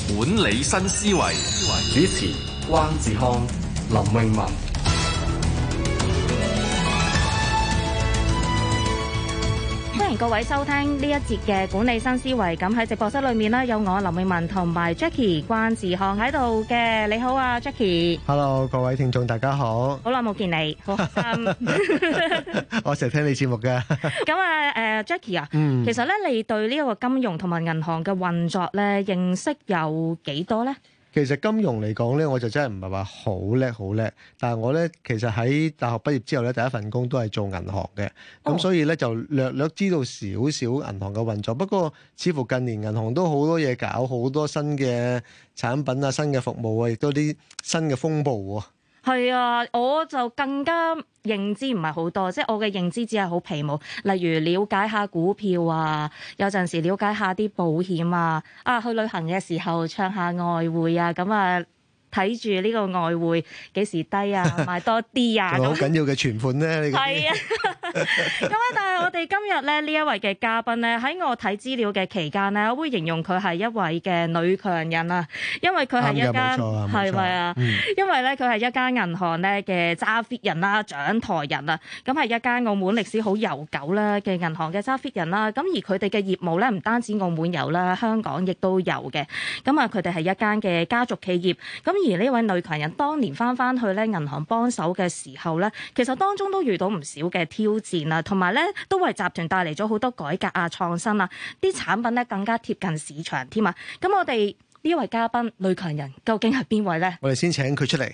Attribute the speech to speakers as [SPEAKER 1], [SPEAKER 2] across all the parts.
[SPEAKER 1] 管理新思維，
[SPEAKER 2] 主持關志康、林詠雯。
[SPEAKER 3] 歡迎各位收聽呢一節嘅管理新思維。咁喺直播室裏面呢，有我林詠雯同埋 Jackie 關志康喺度嘅。你好啊
[SPEAKER 4] Jackie。Hello， 各位聽眾大家好。
[SPEAKER 3] 好耐冇見你，好開心。
[SPEAKER 4] 我成日聽你節目嘅。
[SPEAKER 3] 咁啊Jackie 啊，其實咧你對呢一個金融同埋銀行嘅運作咧認識有幾多咧？
[SPEAKER 4] 其實金融嚟講咧，我就真係唔係話好叻，但係我咧其實喺大學畢業之後咧，第一份工都係做銀行嘅，咁所以咧就略知道少少銀行嘅運作。不過似乎近年銀行都好多嘢搞，好多新嘅產品啊、新嘅服務啊，亦都啲新嘅風暴喎。
[SPEAKER 3] 係啊，我就更加認知唔係好多，即係我嘅認知只係好皮毛，例如了解下股票啊，有陣時了解下啲保險啊，去旅行嘅時候唱下外匯啊，咁啊睇住呢個外匯幾時低啊，買多啲啊，
[SPEAKER 4] 好緊要嘅存款咧，
[SPEAKER 3] 係啊。咁但係我哋今日咧呢一位嘅嘉賓咧，喺我睇資料嘅期間咧，我會形容佢係一位嘅女強人啊，因為佢係一間係咪啊？因為咧佢係一間銀行咧嘅揸 fit 人啦、掌台人啊，咁係一間澳門歷史好悠久啦嘅銀行嘅揸 fit 人啦。咁而佢哋嘅業務咧唔單止澳門有啦，香港亦都有嘅。咁啊，佢哋係一間嘅家族企業。咁而呢位女強人當年翻去咧銀行幫手嘅時候咧，其實當中都遇到唔少嘅挑戰啊，同埋咧都為集團帶嚟咗好多改革啊、創新啊，啲產品咧更加貼近市場添啊。咁我哋呢位嘉賓女強人究竟係邊位咧？
[SPEAKER 4] 我哋先請佢出嚟。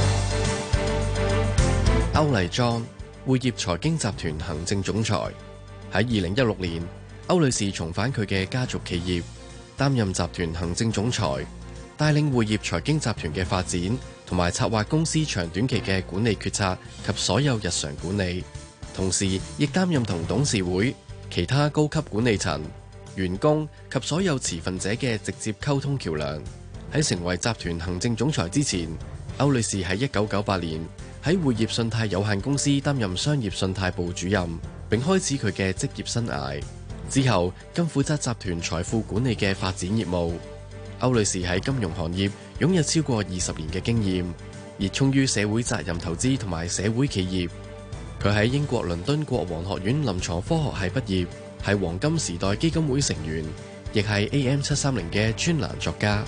[SPEAKER 5] 歐麗莊匯業財經集團行政總裁，喺2016年，歐女士重返佢嘅家族企業，擔任集團行政總裁，帶領匯業財經集團嘅發展，同埋策劃公司長短期嘅管理決策及所有日常管理，同時亦擔任同董事會、其他高級管理層、員工及所有持份者嘅直接溝通橋樑。喺成為集團行政總裁之前，歐女士喺1998年喺匯業信貸有限公司擔任商業信貸部主任，並開始佢嘅職業生涯。之後更負責集團財富管理嘅發展業務。歐女士喺金融行業擁有超過20年嘅經驗，熱衷於社會責任投資同埋社會企業。佢喺英國倫敦國王學院臨床科學系畢業，係黃金時代基金會成員，亦係 AM730嘅專欄作家。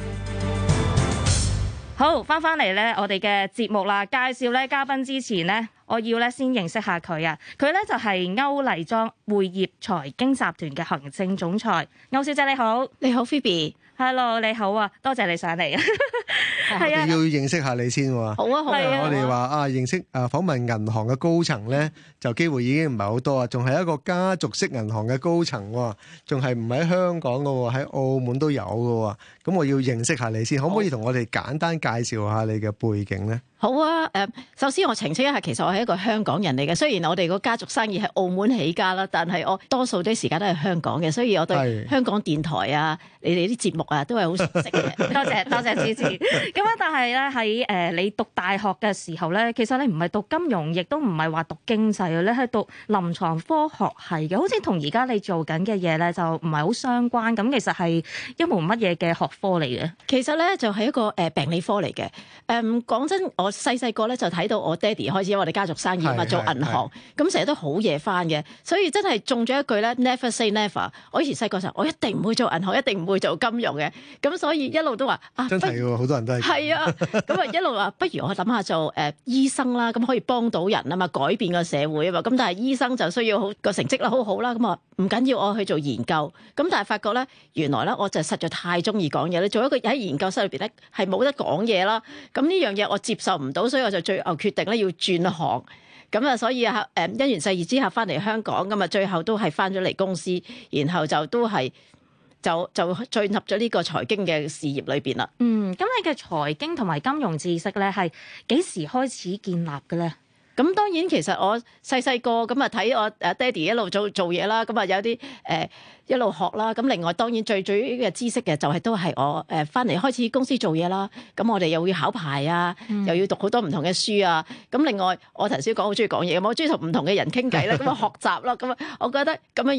[SPEAKER 3] 好，翻嚟咧，我哋嘅節目啦，介紹咧嘉賓之前咧，我要咧先認識下佢啊。佢咧就係歐麗莊匯業財經集團嘅行政總裁，歐小姐你好。
[SPEAKER 6] 你好 Phoebe。Hello，
[SPEAKER 3] 你好啊，多謝你上嚟啊。
[SPEAKER 4] 係啊，要認識下你先喎。
[SPEAKER 6] 好啊，好啊。
[SPEAKER 4] 我哋話認識訪問銀行嘅高層咧，就機會已經唔係好多啊。仲係一個家族式銀行嘅高層喎，仲係唔喺香港嘅喎，喺澳門都有嘅喎。咁我要認識下你先，可唔可以同我哋簡單介紹下你嘅背景咧？
[SPEAKER 6] 好啊，首先我澄清一下，其實我係一個香港人嚟嘅。雖然我哋個家族生意係澳門起家啦，但係我多數啲時間都係香港嘅，所以我對香港電台啊、你哋啲節目啊都係好熟悉嘅。
[SPEAKER 3] 多謝支持。咁但係咧喺你讀大學嘅時候咧，其實你唔係讀金融，亦都唔係話讀經濟嘅，你係讀臨床科學系嘅，好似同而家你做緊嘅嘢咧就唔係好相關。咁其實係一門乜嘢嘅學科嚟嘅？
[SPEAKER 6] 其實咧就係一個病理科嚟嘅。講真，我細個咧就睇到我爹哋開始，因為我哋家族生意嘛，做銀行，咁成日都好夜翻嘅，所以真係中咗一句咧 Never say never。我以前細個時候，我一定唔會做銀行，一定唔會做金融嘅，咁所以一路都話
[SPEAKER 4] 真係喎，好多人都係。係
[SPEAKER 6] 啊，咁啊一路話不如我諗下做醫生啦，咁可以幫到人啊嘛，改變個社會啊嘛。咁但係醫生就需要個成績啦，好好啦，咁啊唔緊要，我去做研究。咁但係發覺咧，原來咧我就實在太中意講嘢咧，做一個喺研究室裏邊咧係冇得講嘢啦。咁呢樣嘢我接受唔到，所以我就最後決定咧要轉行。咁啊，所以因緣際遇之下翻嚟香港，咁啊最後都係翻咗嚟公司，然後就都係就進入咗呢個財經嘅事業裏邊啦。
[SPEAKER 3] 咁你嘅財經同埋金融知識咧係幾時開始建立嘅咧？
[SPEAKER 6] 咁當然其實我細個咁啊睇我爹哋一路做嘢啦，咁啊有啲一路學啦。咁另外當然最主要嘅知識嘅就係都係我翻嚟開始公司做嘢啦。咁我哋又要考牌啊，又要讀好多唔同嘅書啊。咁另外我頭先講好中意講嘢，我中意同唔同嘅人傾偈啦，咁啊學習啦。咁啊我覺得咁樣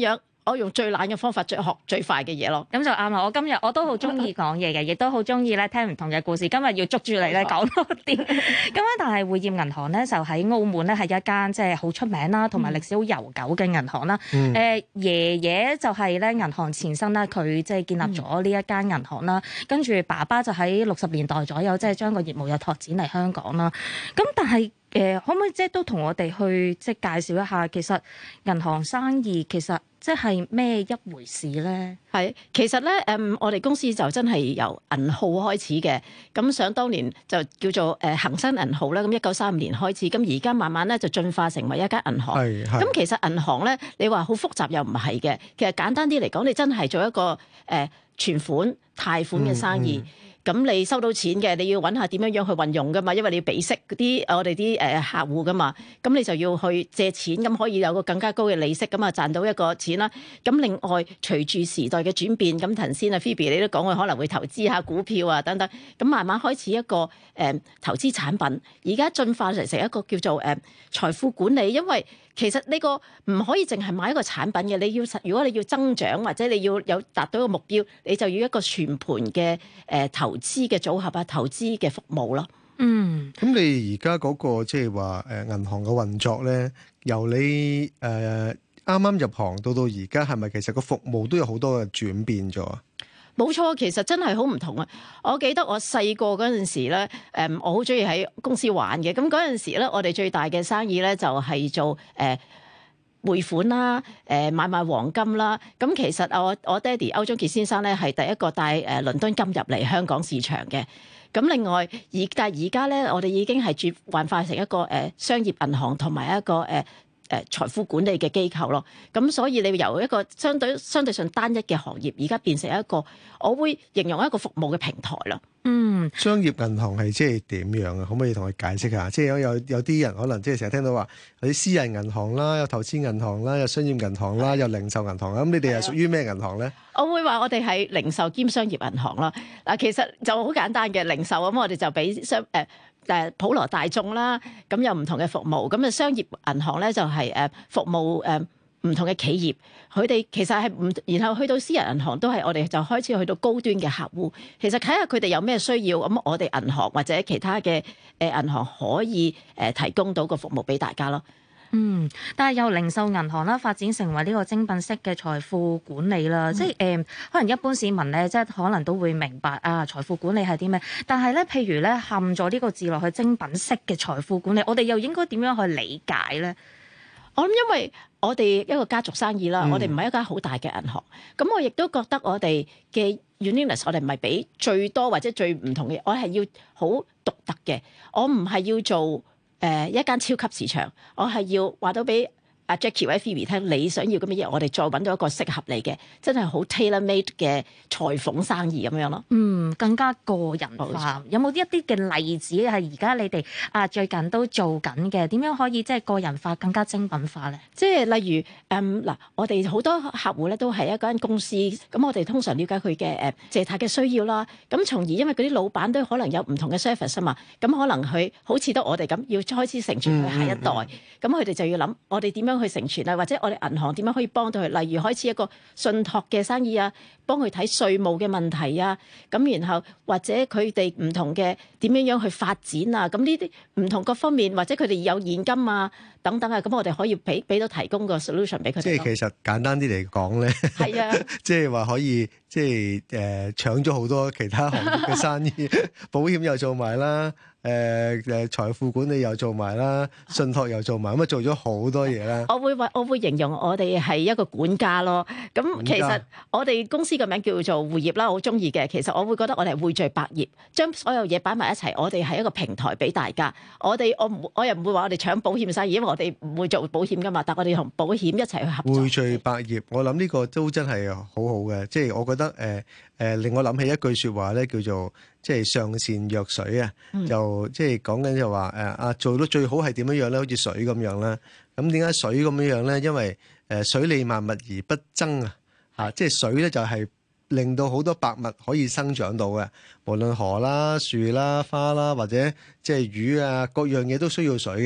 [SPEAKER 6] 我用最懶嘅方法學最快嘅嘢咯。
[SPEAKER 3] 咁就啱啦！我今日我都好中意講嘢嘅，亦都好中意咧聽唔同嘅故事。今日要捉住你咧講多啲。咁咧，但係匯業銀行咧就喺澳門咧係一間即係好出名啦，同埋歷史好悠久嘅銀行啦。爺爺就係咧銀行前身啦，佢即係建立咗呢一間銀行啦。跟住爸爸就喺60年代左右，即係將個業務又拓展嚟香港啦。咁但係可唔可以即係都同我哋去即係介紹一下，其實銀行生意其實即係咩一回事咧？
[SPEAKER 6] 係，其實咧我哋公司就真係由銀號開始嘅。咁想當年就叫做恒生銀號啦。咁1935年開始，咁而家慢慢咧就進化成為一間銀行。咁其實銀行咧，你話好複雜又唔係嘅。其實簡單啲嚟講，你真係做一個存款、貸款嘅生意。咁你收到錢嘅，你要揾下點樣去運用噶嘛，因為你要俾息嗰啲我哋啲客戶噶嘛，咁你就要去借錢，咁可以有個更加高嘅利息，咁啊賺到一個錢啦。咁另外隨住時代嘅轉變，咁頭先啊 Phoebe 你都講佢可能會投資下股票啊等等，咁慢慢開始一個投資產品，而家進化成一個叫做財富管理，因為其實呢個唔可以淨係買一個產品嘅，你要如果你要增長或者你要有達到一個目標，你就要一個全盤嘅投資嘅組合啊，投資嘅服務咯。
[SPEAKER 4] 咁你而家嗰個即係話銀行嘅運作咧，由你啱啱入行到而家，係咪其實個服務都有好多嘅轉變咗啊？
[SPEAKER 6] 冇錯，其實真係好唔同啊！我記得我細個嗰陣時咧，我好中意喺公司玩嘅。咁嗰陣時咧，我哋最大嘅生意咧就係做匯款啦，買賣黃金啦。咁其實我爹哋歐中傑先生咧係第一個帶倫敦金入嚟香港市場嘅。咁另外但係而家咧，我哋已經係轉換化成一個商業銀行同埋一個財富管理嘅機構咯。咁所以你由一個相對上單一嘅行業，而家變成一個我會形容一個服務嘅平台咯。
[SPEAKER 4] 商業銀行係即係點樣啊？可唔可以同佢解釋下？即係有啲人可能即係成日聽到話有啲私人銀行啦，有投資銀行啦，有商業銀行啦，有零售銀行啦。咁你哋係屬於咩銀行咧？
[SPEAKER 6] 我會話我哋係零售兼商業銀行啦。嗱，其實就好簡單嘅零售咁，我哋就俾普羅大眾啦。咁有唔同嘅服務。咁啊，商業銀行咧就係服務唔同嘅企業，佢哋其實係唔，然後去到私人銀行都係我哋就開始去到高端嘅客戶。其實睇下佢哋有咩需要，咁我哋銀行或者其他嘅銀行可以提供到個服務俾大家咯。
[SPEAKER 3] 但係由零售銀行啦發展成為呢個精品式嘅財富管理啦，即係可能一般市民咧，即係可能都會明白啊，財富管理係啲咩？但係咧，譬如咧，嵌咗呢個字落去精品式嘅財富管理，我哋又應該點樣去理解咧？
[SPEAKER 6] 我諗，因為我哋一個家族生意啦，我哋唔係一間好大嘅銀行，咁我亦都覺得我哋嘅 uniqueness， 我哋唔係俾最多或者最唔同嘅，我係要好獨特嘅，我唔係要做一間超級市場，我係要話到俾阿 Jackie 或者 Phoebe 聽，你想要咁嘅嘢，我哋再揾到一個適合你嘅，真係好 tailor-made 嘅裁縫生意咁樣咯。
[SPEAKER 3] 更加個人化。有冇一啲嘅例子係而家你哋最近都做緊嘅？點樣可以即係個人化、更加精品化咧？
[SPEAKER 6] 即係例如嗱，我哋好多客戶咧都係一間公司，咁我哋通常了解佢嘅借貸嘅需要啦。咁從而因為嗰啲老闆都可能有唔同嘅 service 啊嘛，咁可能佢好似得我哋咁要開始承傳去下一代，咁佢哋就要諗我哋點樣去承傳啊，或者我哋銀行點樣可以幫到佢？例如開始一個信託嘅生意啊，幫佢睇稅務嘅問題啊，咁然後或者佢哋唔同嘅點樣去發展啊，咁呢啲唔同各方面，或者佢哋有現金啊等等啊，咁我哋可以俾到提供個 solution 俾佢哋。
[SPEAKER 4] 即係其實簡單啲嚟講咧，係啊，即係話可以即係搶咗好多其他行業嘅生意，保險又做埋啦。財富管理又做埋啦，信託又做埋，咁啊做咗好多嘢啦。
[SPEAKER 6] 我會形容我哋係一個管家咯。咁其實我哋公司個名叫做匯業啦，我好中意嘅。其實我會覺得我哋係匯聚百業，將所有嘢擺埋一齊，我哋係一個平台俾大家。我又唔會話我哋搶保險生意，因為我哋唔會做保險噶嘛。但我哋同保險一齊去合作。匯
[SPEAKER 4] 聚百業，我諗呢個都真係好好嘅。即係我覺得令我諗起一句説話咧，叫做即係上善若水啊，就即係講緊就話做到最好係點樣樣咧？好似水咁樣啦。咁點解水咁樣樣咧？因為水利萬物而不爭啊！即係水咧就係令到好多百物可以生長到嘅，無論河啦、樹啦、花啦，或者即係魚啊，各樣嘢都需要水嘅。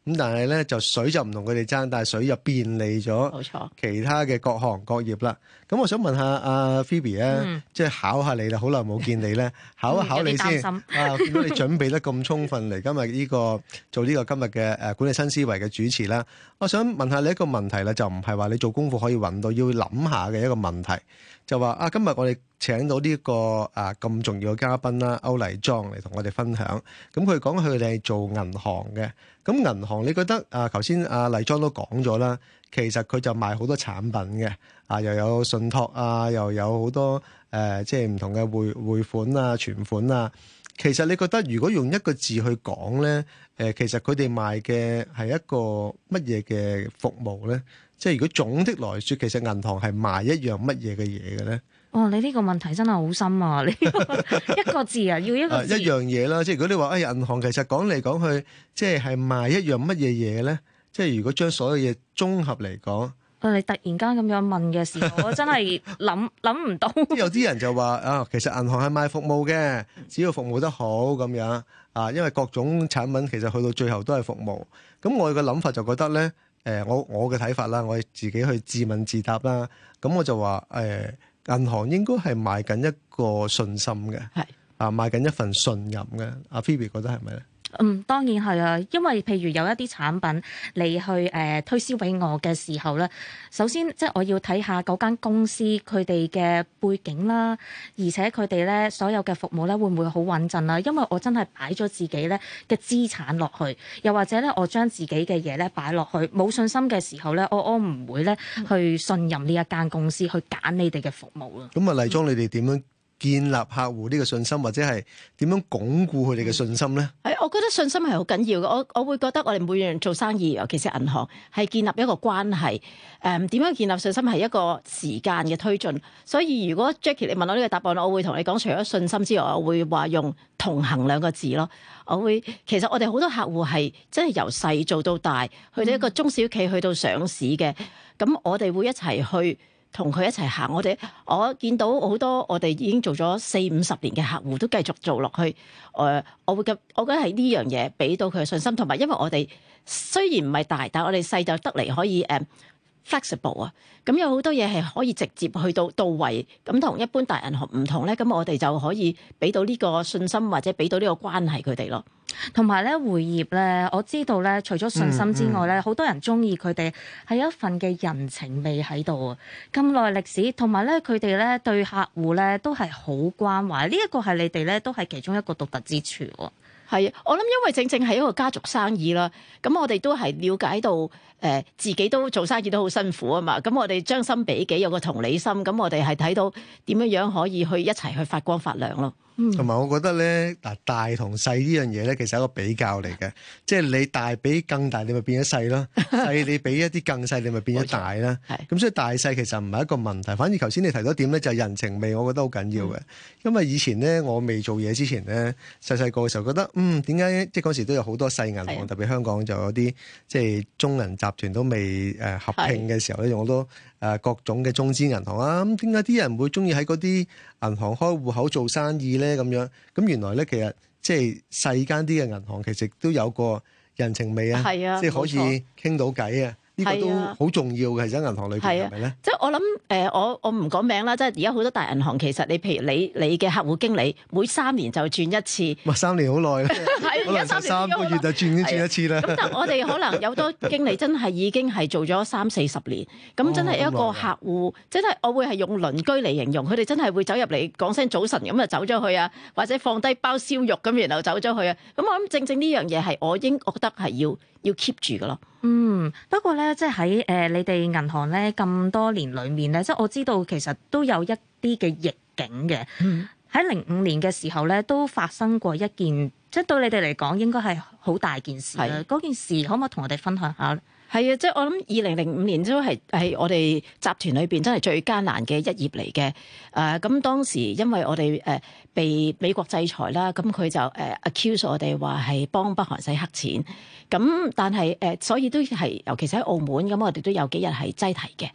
[SPEAKER 4] 咁但係咧就水就唔同佢哋爭，但係水就便利咗
[SPEAKER 6] 冇錯
[SPEAKER 4] 其他嘅各行各業啦。咁我想問下阿 Phoebe 咧，即係考下你啦，好耐冇見你咧，考一考你先。我見到你準備得咁充分嚟今日呢個做呢個今日嘅管理新思維嘅主持啦。我想問下你一個問題啦，就唔係話你做功課可以揾到，要諗下嘅一個問題，就話今日我哋請到呢個咁重要嘅嘉賓啦，歐麗莊嚟同我哋分享。咁佢講佢哋係做銀行嘅。咁銀行你覺得頭先阿麗莊都講咗啦，其實佢就賣好多產品嘅，又有信託又有好多即係唔同嘅匯款存款啊。其實你覺得如果用一個字去講咧，其實佢哋賣嘅係一個乜嘢嘅服務咧？即係如果總的來說，其實銀行係賣一樣乜嘢嘅嘢嘅咧？
[SPEAKER 3] 哦，你呢個問題真係好深啊！你一個字要一個字
[SPEAKER 4] 一樣嘢啦。即係如果你話銀行其實講嚟講去，即係賣一樣乜嘢嘢咧？即係如果將所有嘢綜合嚟講，
[SPEAKER 3] 你突然間咁樣問嘅時候，我真係諗唔到。
[SPEAKER 4] 有啲人就話其實銀行係賣服務嘅，只要服務得好咁樣因為各種產品其實去到最後都係服務。咁我嘅諗法就覺得咧，我嘅睇法啦，我自己去自問自答啦。咁我就話銀行應該係賣緊一個信心嘅，賣緊一份信任嘅。阿 Phoebe 覺得係咪咧？
[SPEAKER 3] 當然係啊，因為譬如有一啲產品你去推銷俾我嘅時候咧，首先即係我要睇下嗰間公司佢哋嘅背景啦，而且佢哋咧所有嘅服務咧會唔會好穩陣啦？因為我真係擺咗自己咧嘅資產落去，又或者咧我將自己嘅嘢咧擺落去，冇信心嘅時候咧，我唔會咧去信任呢一間公司去揀你哋嘅服務咯。
[SPEAKER 4] 咁麗莊，你哋點樣建立客戶呢個信心，或者係點樣鞏固佢哋嘅信心咧？
[SPEAKER 6] 我覺得信心係好緊要嘅。我會覺得我哋每樣做生意，尤其是銀行，係建立一個關係。點樣建立信心係一個時間嘅推進。所以如果 Jackie 你問我呢個答案，我會同你講，除咗信心之外，我會話用同行兩個字咯。其實我哋好多客戶係真係由細做到大，去到一個中小企，去到上市嘅。咁我哋會一齊去同佢一齊行，我見到好多我哋已經做咗40-50年嘅客戶都繼續做落去。我覺得係呢樣嘢俾到佢嘅信心，同埋因為我哋雖然唔係大，但係我哋細就得嚟可以flexible 啊。咁有好多嘢係可以直接去到位，咁同一般大銀行唔同咧。咁我哋就可以俾到呢個信心，或者俾到呢個關係佢哋咯。
[SPEAKER 3] 同埋咧，匯業咧，我知道咧，除咗信心之外咧，好多人中意佢哋係一份嘅人情味喺度啊！咁耐歷史，同埋咧，佢哋咧對客戶咧都係好關懷，呢一個係你哋咧都係其中一個獨特之處喎。
[SPEAKER 6] 係啊，我諗因為正正係一個家族生意啦，咁我哋都係了解到自己都做生意都好辛苦啊嘛，咁我哋將心比己，有個同理心，咁我哋係睇到點樣可以去一齊去發光發亮咯。
[SPEAKER 4] 同埋我覺得咧，大同細呢樣嘢咧，其實係一個比較嚟嘅，即係你大比更大，你咪變咗細咯；細你比一啲更細，你咪變咗大啦。咁所以大細其實唔係一個問題，反而頭先你提到點咧，就係人情味，我覺得好緊要嘅。因為以前咧，我未做嘢之前咧，細個嘅時候覺得，點解即係嗰時都有好多細銀行，特別香港就有啲即係中銀集團都未合併嘅時候咧，用好多各種嘅中資銀行啊，咁點解啲人會中意喺嗰啲銀行開戶口做生意咧？咁樣咁原來咧，其實即係細間啲嘅銀行，其實都有個人情味啊，即係可以傾到偈啊。呢個都好重要嘅，喺銀行裏邊係咪咧？
[SPEAKER 6] 即係我諗我唔講名啦，即係而家好多大銀行其實你譬如你嘅客戶經理每3年就轉一次。
[SPEAKER 4] 哇，3年好耐啦，可能3個月就轉一次啦。
[SPEAKER 6] 咁但係我哋可能有多經理真係已經係做咗30-40年，咁真係一個客戶，真係我會係用鄰居嚟形容，佢哋真係會走入嚟講聲早晨咁就走咗去啊，或者放低包燒肉咁然後走咗去啊。咁我諗正正呢樣嘢係我覺得係要 keep 住㗎咯。
[SPEAKER 3] 不過咧，即係喺你哋銀行咧咁多年裏面咧，即係我知道其實都有一啲嘅逆境嘅。喺05年嘅時候咧，都發生過一件，即係對你哋嚟講應該係好大件事啦。嗰件事可唔可以同我哋分享下咧？
[SPEAKER 6] 係啊，即係我諗2005年都係我哋集團裏邊真係最艱難嘅一頁嚟嘅。咁當時因為我哋被美國制裁啦，咁佢就accuse 我哋話係幫北韓洗黑錢。咁但係所以都係尤其是喺澳門咁，我哋都有幾日係擠提嘅。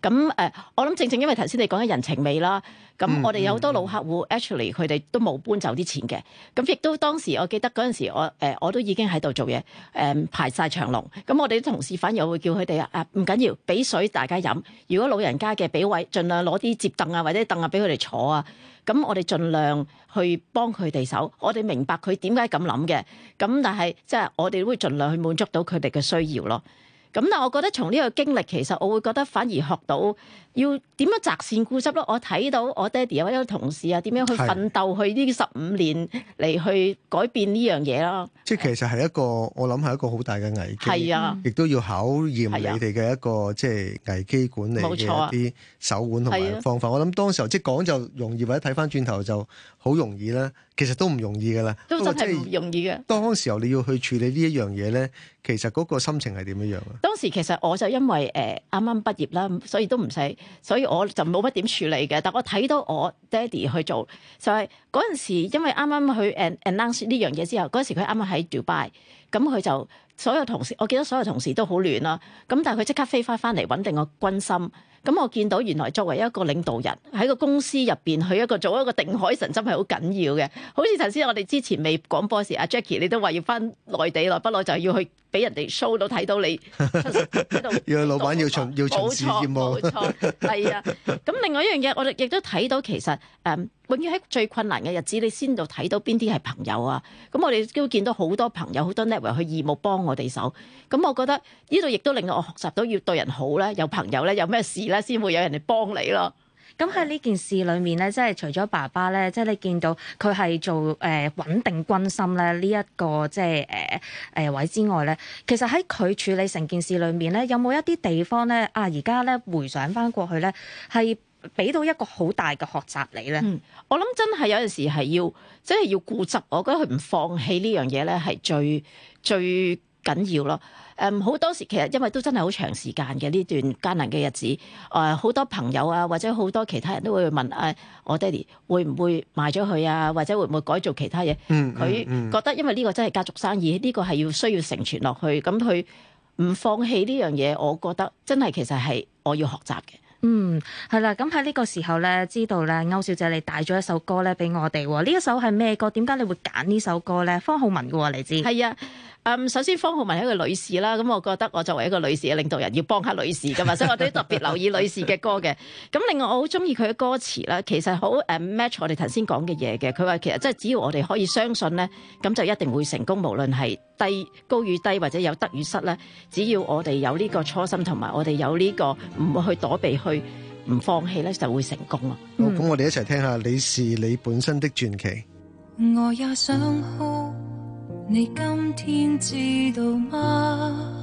[SPEAKER 6] 咁我諗正因為頭先你講嘅人情味啦，咁我哋有好多老客戶 actually 佢哋都冇搬走啲錢嘅，咁亦都當時我記得嗰陣時我都已經喺度做嘢，排晒長龍，咁我哋啲同事反而我會叫佢哋唔緊要，俾水大家飲，如果老人家嘅俾位，盡量攞啲摺凳啊或者凳啊俾佢哋坐啊，咁我哋盡量去幫佢哋手，我哋明白佢點解咁諗嘅，咁但係即係我哋都會盡量去滿足到佢哋嘅需要咯。咁但係我覺得從呢個經歷，其實我會覺得反而學到要點樣擇善固執咯。我睇到我爹哋或者同事啊，點樣去奮鬥去呢15年嚟去改變呢樣嘢啦。
[SPEAKER 4] 即係其實係一個我諗係一個好大嘅危機，
[SPEAKER 6] 係啊，
[SPEAKER 4] 亦都要考驗你哋嘅一個即係危機管理嘅一啲手腕同埋方法。我諗當時候即係講就容易，或者睇翻轉頭就好容易啦。其實都唔容易㗎啦，
[SPEAKER 6] 都真係唔容易嘅。
[SPEAKER 4] 當時候你要去處理呢一樣嘢咧，其實嗰個心情係點樣樣啊？
[SPEAKER 6] 當時其實我就因為啱啱畢業啦，所以都唔使，所以我就冇乜點處理嘅。但我睇到我爹哋去做，就係嗰陣時，因為啱啱去 announce 呢樣嘢之後，嗰陣時佢啱啱喺 Dubai，咁佢就所有同事，我記得所有同事都好亂啦。咁但係佢即刻飛翻嚟穩定個軍心。咁我見到原來作為一個領導人喺個公司入邊去做一個定海神針係好緊要嘅，好似頭先我哋之前未廣播時，阿 Jackie 你都話要翻內地耐不耐就要去俾人哋 show 到睇到你喺度，
[SPEAKER 4] 要老闆要巡視業務，
[SPEAKER 6] 冇錯，係啊。咁另外一樣嘢，我哋亦都睇到其實永遠喺最困難嘅日子，你先到睇到邊啲係朋友啊。咁我哋都見到好多朋友好多 network 去義務幫我哋手。咁我覺得呢度亦都令到我學習到要對人好咧，有朋友咧，有咩事咧，先會有人嚟幫你咯。
[SPEAKER 3] 咁喺呢件事裏面咧，即係除咗爸爸咧，即係你見到佢係做穩定軍心咧呢一個即係位之外咧，其實喺佢處理成件事裏面咧，有冇一啲地方咧而家咧回想翻過去咧，係俾到一個好大嘅學習你咧？
[SPEAKER 6] 我諗真係有陣時係要即係要固執，我覺得佢唔放棄呢樣嘢咧係最緊要咯。好多時其實因為都真係好長時間嘅呢段艱難嘅日子，好多朋友啊或者好多其他人都會問我爹哋會唔會賣咗佢啊，或者會唔會改做其他嘢？佢覺得因為呢個真係家族生意，呢個係需要承傳落去，咁佢唔放棄呢樣嘢，我覺得真係其實係我要學習嘅。
[SPEAKER 3] 係啦，咁喺呢個時候咧，知道咧歐小姐你帶咗一首歌咧俾我哋喎，呢一首係咩歌？點解你會揀呢首歌咧？方皓玟嘅喎，你知？係啊。首先方皓玟係一個女士啦，咁我覺得我作為一個女士嘅領導人要幫下女士噶嘛，所以我哋特別留意女士嘅歌嘅。咁另外我好中意佢嘅歌詞啦，其實好match 我哋頭先講嘅嘢嘅。佢話其實即係只要我哋可以相信咧，咁就一定會成功，無論係高與低或者有得與失咧，只要我哋有呢個初心同埋我哋有呢個唔會去躲避去唔放棄咧，就會成功咯。
[SPEAKER 4] 好，咁我哋一齊聽下你是你本身的傳奇。
[SPEAKER 1] 我也想哭，你今天知道嗎？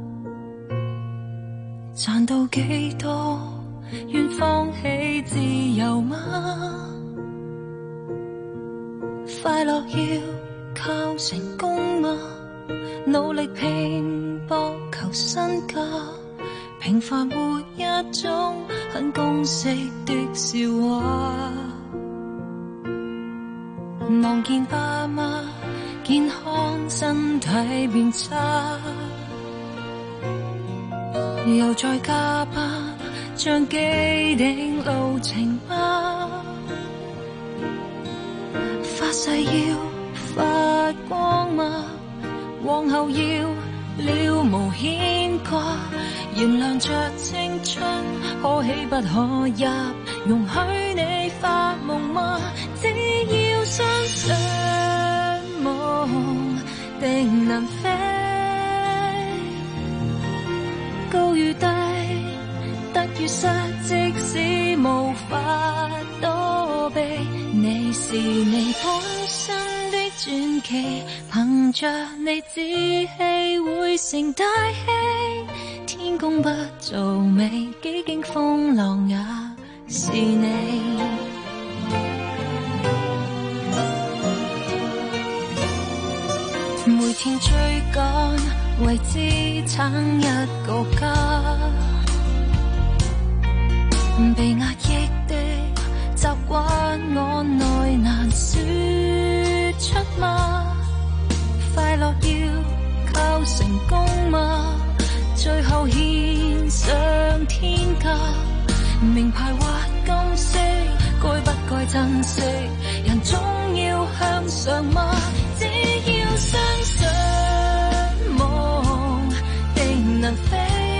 [SPEAKER 1] 賺到幾多，願放棄自由嗎？快樂要靠成功嗎？努力拼搏求身家，平凡活一種很公式的笑話。望見爸媽健康身體變差，又再加班像既定路程嗎？發誓要發光嗎？往後要了無牽掛，原諒着青春可喜不可泣，容許你發夢嗎？只要相信夢定能飛，高與低，得與失，即使無法躲避，你是你本身的傳奇，憑着你志氣會成大器，天公不造美，幾經風浪也是你。每天追趕，為支撐一個家，被壓抑的習慣，我內難說出嗎？快樂要靠成功嗎？最後獻上天價， 珍惜，人總要向上嗎？只要相信夢定能飛，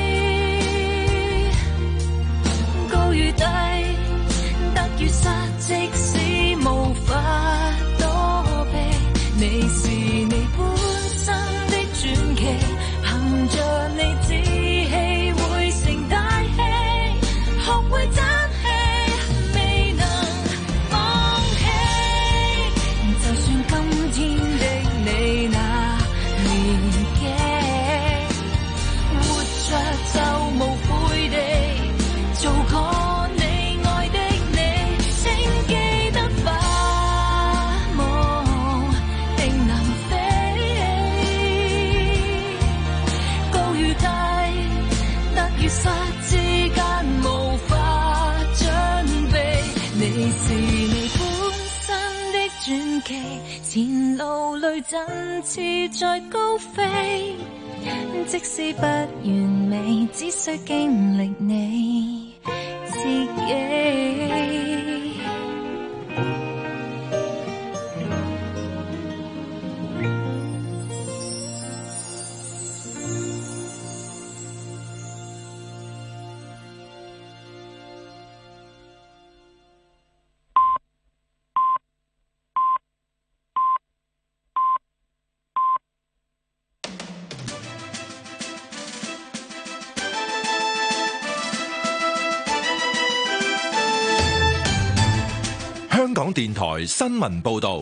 [SPEAKER 1] 高與低，得與失，即使無法躲避，你是你本身的傳奇，憑着你志氣會成大器，學會爭氣，未能放棄。就算今天的你那年紀，活着就無悔地做過你愛的你，請記得發夢定能飛，高與低，得與失之間無法準備，你是你本身的傳奇，前路裏振翅在高飛，即使不完美，只需經歷你自己。
[SPEAKER 7] 香港電台新聞報道，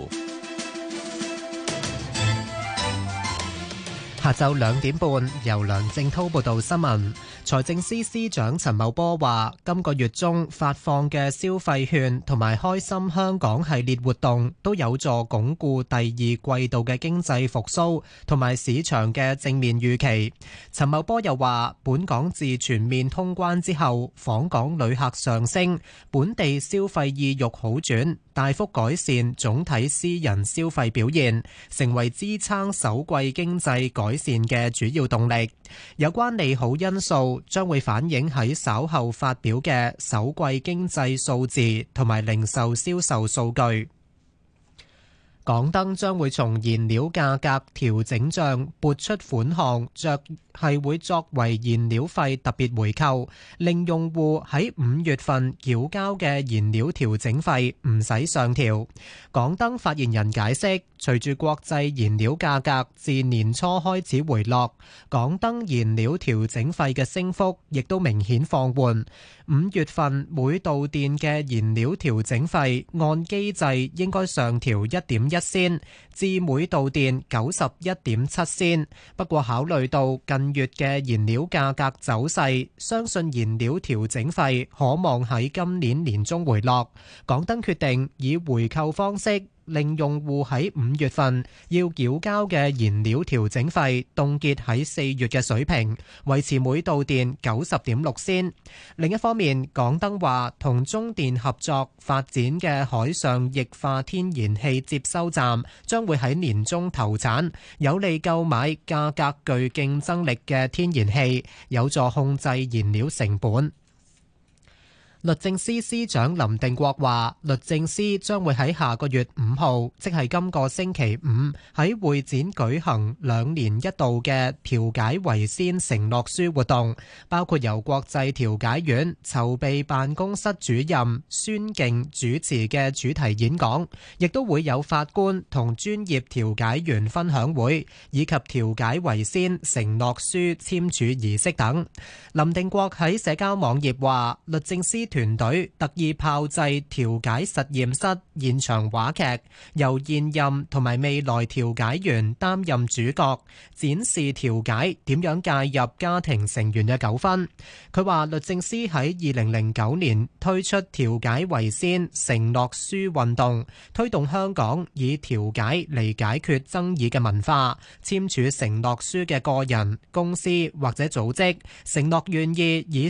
[SPEAKER 8] 下晝2點半，由梁正滔報道新聞。財政司司長陳茂波話，今個月中發放嘅消費券同埋開心香港系列活動都有助鞏固第二季度嘅經濟復甦同埋市場嘅正面預期。陳茂波又話，本港自全面通關之後，訪港旅客上升，本地消費意欲好轉，大幅改善總體私人消費表現，成為支撐首季經濟改善嘅主要動力。有關利好因素將會反映喺稍後發表嘅首季經濟數字同埋零售銷售數據。港燈將會從燃料價格調整帳撥出款項，係會作為燃料費特別回扣，令用戶喺5月份繳交嘅燃料調整費唔使上調。港燈發言人解釋，隨住國際燃料價格自年初開始回落，港燈燃料調整費嘅升幅亦都明顯放緩。5月份每度電嘅燃料調整費按機制應該上調1.1仙至每度電91.7仙，不過考慮到近月嘅燃料價格走勢，相信燃料調整費可望喺今年年中回落。港燈決定以回扣方式，令用戶喺5月份要繳交嘅燃料調整費凍結喺4月嘅水平，維持每度電90.6仙。另一方面，港燈話同中電合作發展嘅海上液化天然氣接收站將會喺年中投產，有利購買價格具競爭力嘅天然氣，有助控制燃料成本。律政司司長林定國話，律政司將會喺下個月5號，即係今個星期5，喺會展舉行2年1度嘅調解為先承諾書活動，包括由國際調解院籌備辦公室主任孫敬主持嘅主題演講，亦都會有法官同專業調解員分享會，以及調解為先承諾書簽署儀式等。林定國喺社交網頁話，律政司團隊特意炮製調解實驗室現場話劇，由現任同埋未來調解員擔任主角，展示調解點樣介入家庭成員嘅糾紛。佢話律政司喺2009年推出調解為先承諾書運動，推動香港以調解嚟解決爭議嘅文化。簽署承諾書嘅個人、公司或者組織，承諾願意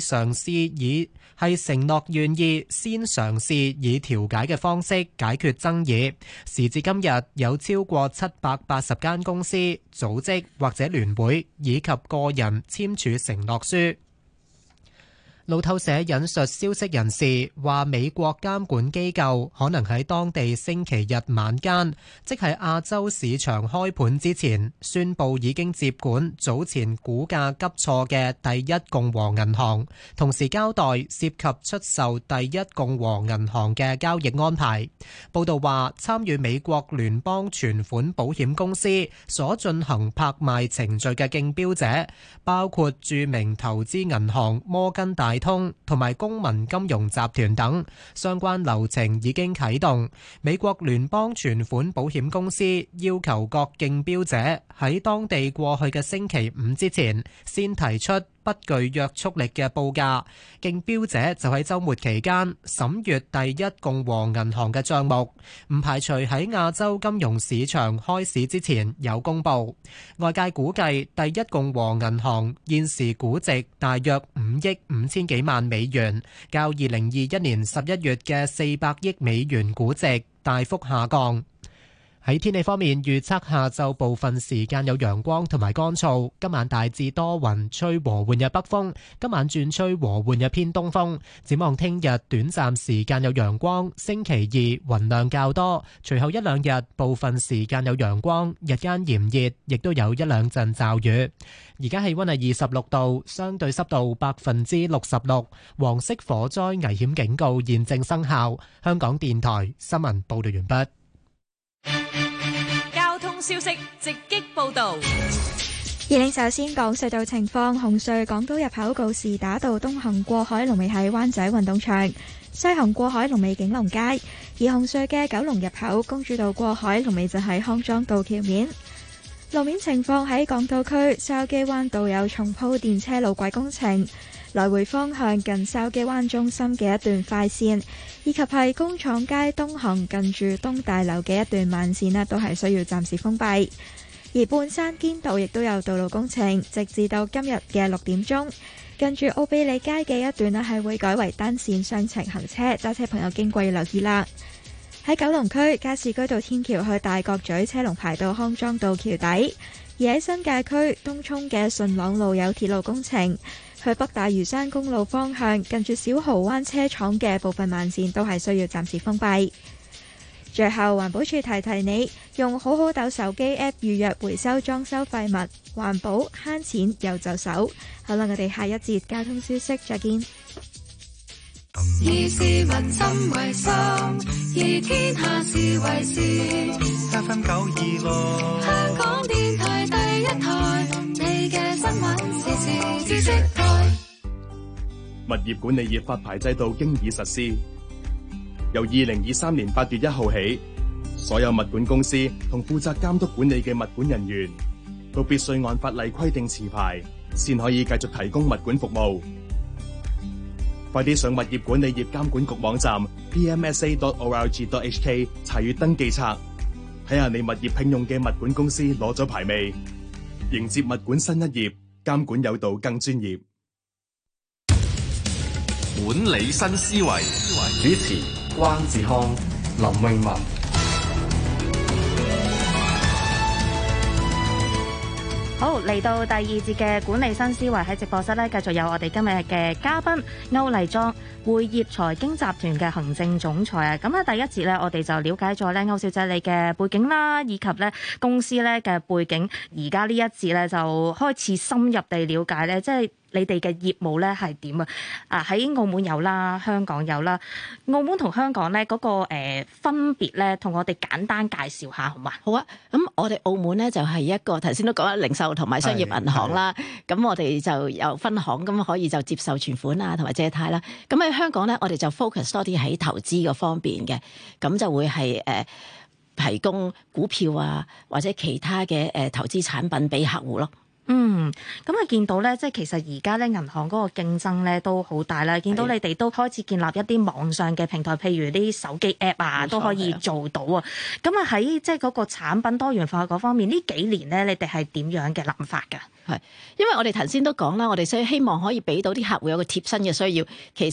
[SPEAKER 8] 先嘗試以調解嘅方式解決爭議。時至今日，有超過780間公司、組織或者聯會以及個人簽署承諾書。 路透社引述消息人士話，美國監管機構可能喺當地星期日晚間，即係亞洲市場開盤之前，宣布已經接管早前股價急挫嘅第一共和銀行，同時交代涉及出售第一共和銀行嘅交易安排。報道話，參與美國聯邦存款保險公司所進行拍賣程序嘅競標者，包括著名投資銀行摩根大通同埋公民金融集團等，相關流程已經啟動。美國聯邦存款保險公司要求各競標者喺當地過去嘅星期五之前先提出不具約束力嘅報價，競標者就喺週末期間審閱第一共和銀行嘅帳目，唔排除喺亞洲金融市場開市之前有公佈。外界估計第一共和銀行現時估值大約5億5千幾萬美元，較2021年11月嘅400億美元估值大幅下降。喺天氣方面，預測下晝部分時間有陽光同埋乾燥，今晚大致多雲，吹和緩嘅北風，今晚轉吹和緩嘅偏東風。展望聽日短暫時間有陽光，星期二雲量較多，隨後一兩日部分時間有陽光，日間炎熱，亦都有一兩陣驟雨。而家氣溫係26度，相對濕度66%，黃色火災危險警告現正生效。香港電台新聞報道完畢。
[SPEAKER 9] 交通消息直擊報道。
[SPEAKER 10] 首先講隧道情況，紅隧港島入口告士打道東行過海龍尾喺灣仔運動場，西行過海龍尾景隆街；而紅隧嘅九龍入口公主道過海龍尾就喺康莊道橋面。路面情況喺港島區筲箕灣道有重鋪電車路軌工程，來回方向近筲箕灣中心嘅一段快線，以及係工廠街東行近住東大樓嘅一段慢線都係需要暫時封閉。而半山堅道亦都有道路工程，直至到今日嘅6點鐘，近住奧比利街嘅一段係會改為單線雙程行車，揸車朋友經過要留意啦。喺九龍區加士居道天橋去大角咀車龍排到康莊道橋底，而喺新界區東涌嘅順朗路有鐵路工程，去北大嶼山公路方向近住小蠔灣車廠嘅部分慢線都係需要暫時封閉。最後環保署提提你，用好好斗手機 App 預約回收裝修廢物，環保慳錢又就手。好啦，我哋下一節交通消息再見。
[SPEAKER 1] 以市民心為心，以天下事為事。
[SPEAKER 11] FM 926，
[SPEAKER 1] 香港電台第一台，你嘅新聞時事知識台。
[SPEAKER 12] 物業管理業發牌制度經已實施，由2023年8月1號起，所有物管公司同負責監督管理嘅物管人員都必須按法例規定持牌，先可以繼續提供物管服務。快啲上物業管理業監管局網站 pmsa.org.hk 查閱登記冊，睇下你物業聘用嘅物管公司攞咗牌未？迎接物管新一頁，監管有道更專業。
[SPEAKER 7] 管理新思維，
[SPEAKER 2] 主持關志康、林詠雯。
[SPEAKER 3] 好，嚟到第二節嘅管理新思維，喺直播室呢，繼續有我哋今日嘅嘉賓歐麗莊，匯業財經集團嘅行政總裁啊。咁第一節呢，我哋就了解咗呢歐小姐你嘅背景啦，以及呢公司呢嘅背景。而家呢一節呢，就開始深入地了解呢，即係你哋嘅業務咧係點啊？喺澳門有啦，香港有啦。澳門同香港咧嗰個分別咧，同我哋簡單介紹下好嘛？
[SPEAKER 6] 好啊。咁我哋澳門咧就係一個頭先都講啦，零售同埋商業銀行啦。咁我哋就有分行，咁可以就接受存款啊，同埋借貸啦。咁喺香港咧，我哋就 focus 多啲喺投資嗰方面嘅，咁就會係提供股票啊或者其他嘅投資產品俾客戶咯。
[SPEAKER 3] 咁見到咧，即係其實而家咧銀行嗰個競爭咧都好大啦。見到你哋都開始建立一啲網上嘅平台，譬如啲手機 app 啊，都可以做到啊。咁喺即係嗰個產品多元化嗰方面，呢幾年咧你哋係點樣嘅諗法㗎？
[SPEAKER 6] 係，因為我哋頭先都講啦，我哋希望可以俾到啲客戶有個貼身嘅需要。其實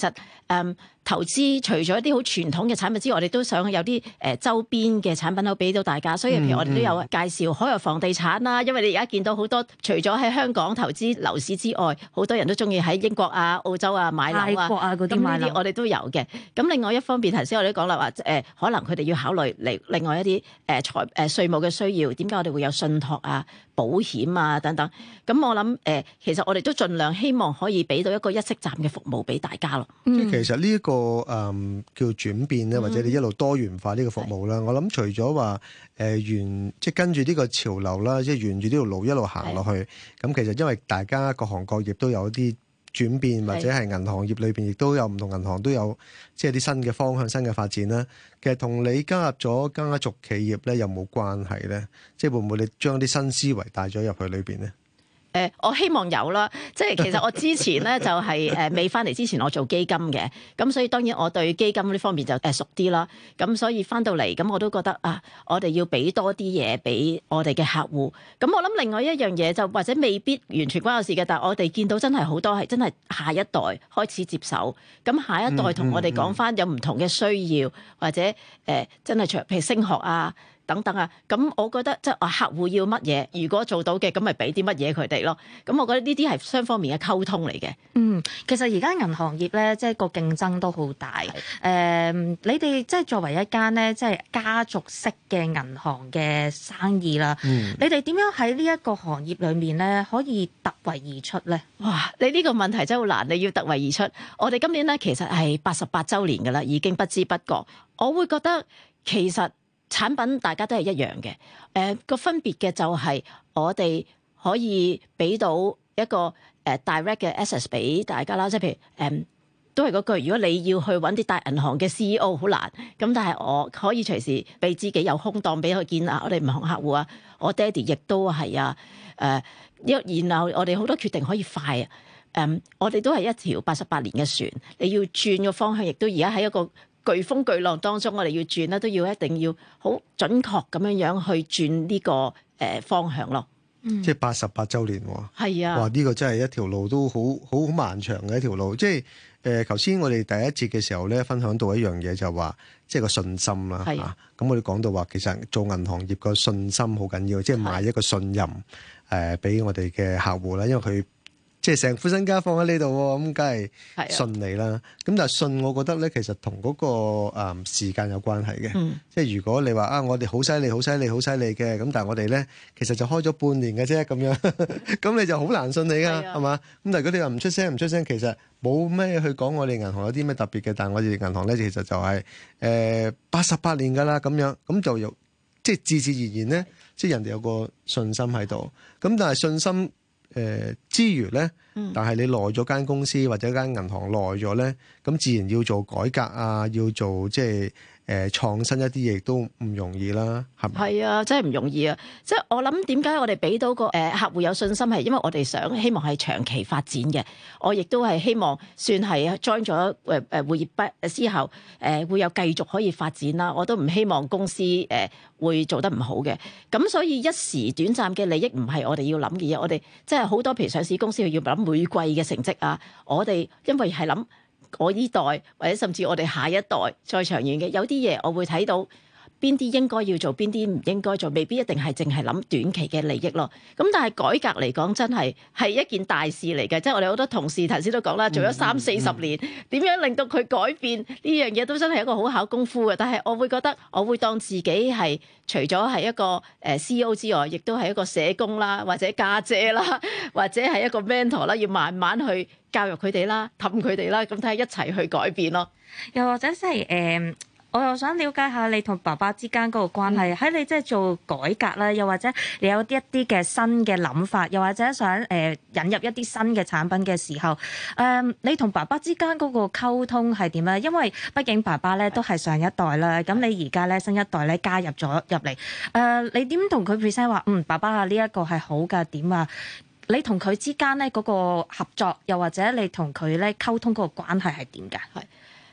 [SPEAKER 6] 投資除咗一啲好傳統嘅產品之外，我哋都想有啲周邊嘅產品可以俾到大家。所以譬如我哋都有介紹海外房地產啦，因為你而家見到好多除咗喺香港投資樓市之外，好多人都中意喺英國啊、澳洲啊買樓啊、
[SPEAKER 3] 泰國啊嗰啲買樓，
[SPEAKER 6] 我哋都有嘅。咁另外一方面，頭先我哋都講啦，話可能佢哋要考慮另外一啲稅務嘅需要，點解我哋會有信託啊、保險啊等等。咁我諗其實我哋都盡量希望可以俾到一個一息站嘅服務俾大家咯。
[SPEAKER 4] 即係其實呢一個叫轉變咧，或者你一路多元化呢個服務啦。我諗除咗話即係跟住呢個潮流啦，即係沿住呢條路一路行落去。咁其實因為大家各行各業都有啲轉變，或者係銀行業裏邊亦都有唔同銀行都有即係啲新嘅方向、新嘅發展啦。其實同你加入咗家族企業咧有冇關係咧？即係會唔會你將啲新思維帶咗入去裏邊咧？
[SPEAKER 6] 我希望有啦，即係其實我之前咧就係未翻嚟之前我做基金嘅，咁所以當然我對基金呢方面就熟啲啦。咁所以翻到嚟咁我都覺得我哋要俾多啲嘢俾我哋嘅客戶。咁我諗另外一樣嘢就或者未必完全關我事嘅，但係我哋見到真係好多係真係下一代開始接手。咁下一代同我哋講翻有唔同嘅需要，或者真係譬如升學啊。等等啊，咁我覺得即係客戶要乜嘢，如果做到嘅，咁咪俾啲乜嘢佢哋咯。咁我覺得呢啲係雙方面嘅溝通嚟嘅。
[SPEAKER 3] 其實而家銀行業咧，即係個競爭都好大。你哋即係作為一間咧，即係家族式嘅銀行嘅生意啦，你哋點樣喺呢一個行業裏面咧，可以突圍而出咧？
[SPEAKER 6] 哇！你呢個問題真係好難，你要突圍而出。我哋今年咧其實係88週年㗎啦，已經不知不覺。我會覺得其實產品大家都係一樣嘅，個分別嘅就係我哋可以俾到一個direct 嘅 access 俾大家啦，即係譬如都係嗰句，如果你要去揾啲大銀行嘅 CEO 好難，咁但係我可以隨時俾自己有空檔俾佢見啊，我哋唔同客戶啊，我爹哋亦都係啊，然後我哋好多決定可以快啊，我哋都係一條88年嘅船，你要轉個方向，亦都而家喺一個颶風巨浪當中，我哋要轉咧，都要一定要好準確咁樣去轉呢個方向咯。
[SPEAKER 4] 即係88週年喎。
[SPEAKER 6] 係啊。
[SPEAKER 4] 哇！呢個真係一條路都好漫長嘅一條路。即係頭先我哋第一節嘅時候咧，分享到一樣嘢就話，即係個信心啦。係。咁我哋講到話，其實做銀行業個信心好緊要，即係買一個信任俾我哋嘅客戶啦，因為佢即係成副身家放喺呢度喎，咁梗係信你啦。咁但係信，我覺得咧，其實同嗰個時間有關係嘅。即係如果你話我哋好犀利、好犀利、好犀利嘅，咁但係我哋咧其實就開咗半年嘅啫，咁樣咁你就好難信你㗎，係嘛？咁但係如果你話唔出聲，其實冇咩去講我哋銀行有啲咩特別嘅，但係我哋銀行咧其實就係88年㗎啦，咁樣咁就有即係自自然然咧，即係人哋有個信心喺度。咁但係信心之餘咧，但係你耐咗間公司或者間銀行耐咗咧，咁自然要做改革啊，要做即係創新一啲嘢都唔容易啦，係咪？係
[SPEAKER 6] 啊，真係唔容易啊！即係我諗點解我哋俾到個客戶有信心，係因為我哋希望係長期發展嘅。我亦都係希望算係 join 咗會業之後會有繼續可以發展啦。我都唔希望公司會做得唔好嘅。咁所以一時短暫嘅利益唔係我哋要諗嘅嘢。我哋即係好多譬如上市公司要諗每季嘅成績啊。我哋因為係諗我呢代或者甚至我哋下一代再長遠嘅，有啲嘢我會睇到邊啲應該要做，邊啲唔應該做，未必一定係淨係諗短期嘅利益咯。咁但係改革嚟講，真係一件大事嚟嘅。即係我哋好多同事頭先都講啦，做咗30-40年，點樣令到佢改變呢樣嘢都真係一個好考功夫嘅。但係我會覺得，我會當自己係除咗係一個CEO 之外，亦都係一個社工啦，或者家姐啦，或者係一個 mentor 啦，要慢慢去教育佢哋啦，氹佢哋啦，咁睇下一齊去改變咯。
[SPEAKER 3] 又或者即係我又想了解下你同爸爸之間嗰個關係，喺你即係做改革啦，又或者你有一啲嘅新嘅諗法，又或者想引入一啲新嘅產品嘅時候，你同爸爸之間嗰個溝通係點咧？因為畢竟爸爸咧都係上一代啦，咁你而家咧新一代咧加入咗入嚟，你點同佢 present 話爸爸啊呢一個係好㗎點啊？你同佢之間咧嗰個合作，又或者你同佢咧溝通嗰個關係係點㗎？係。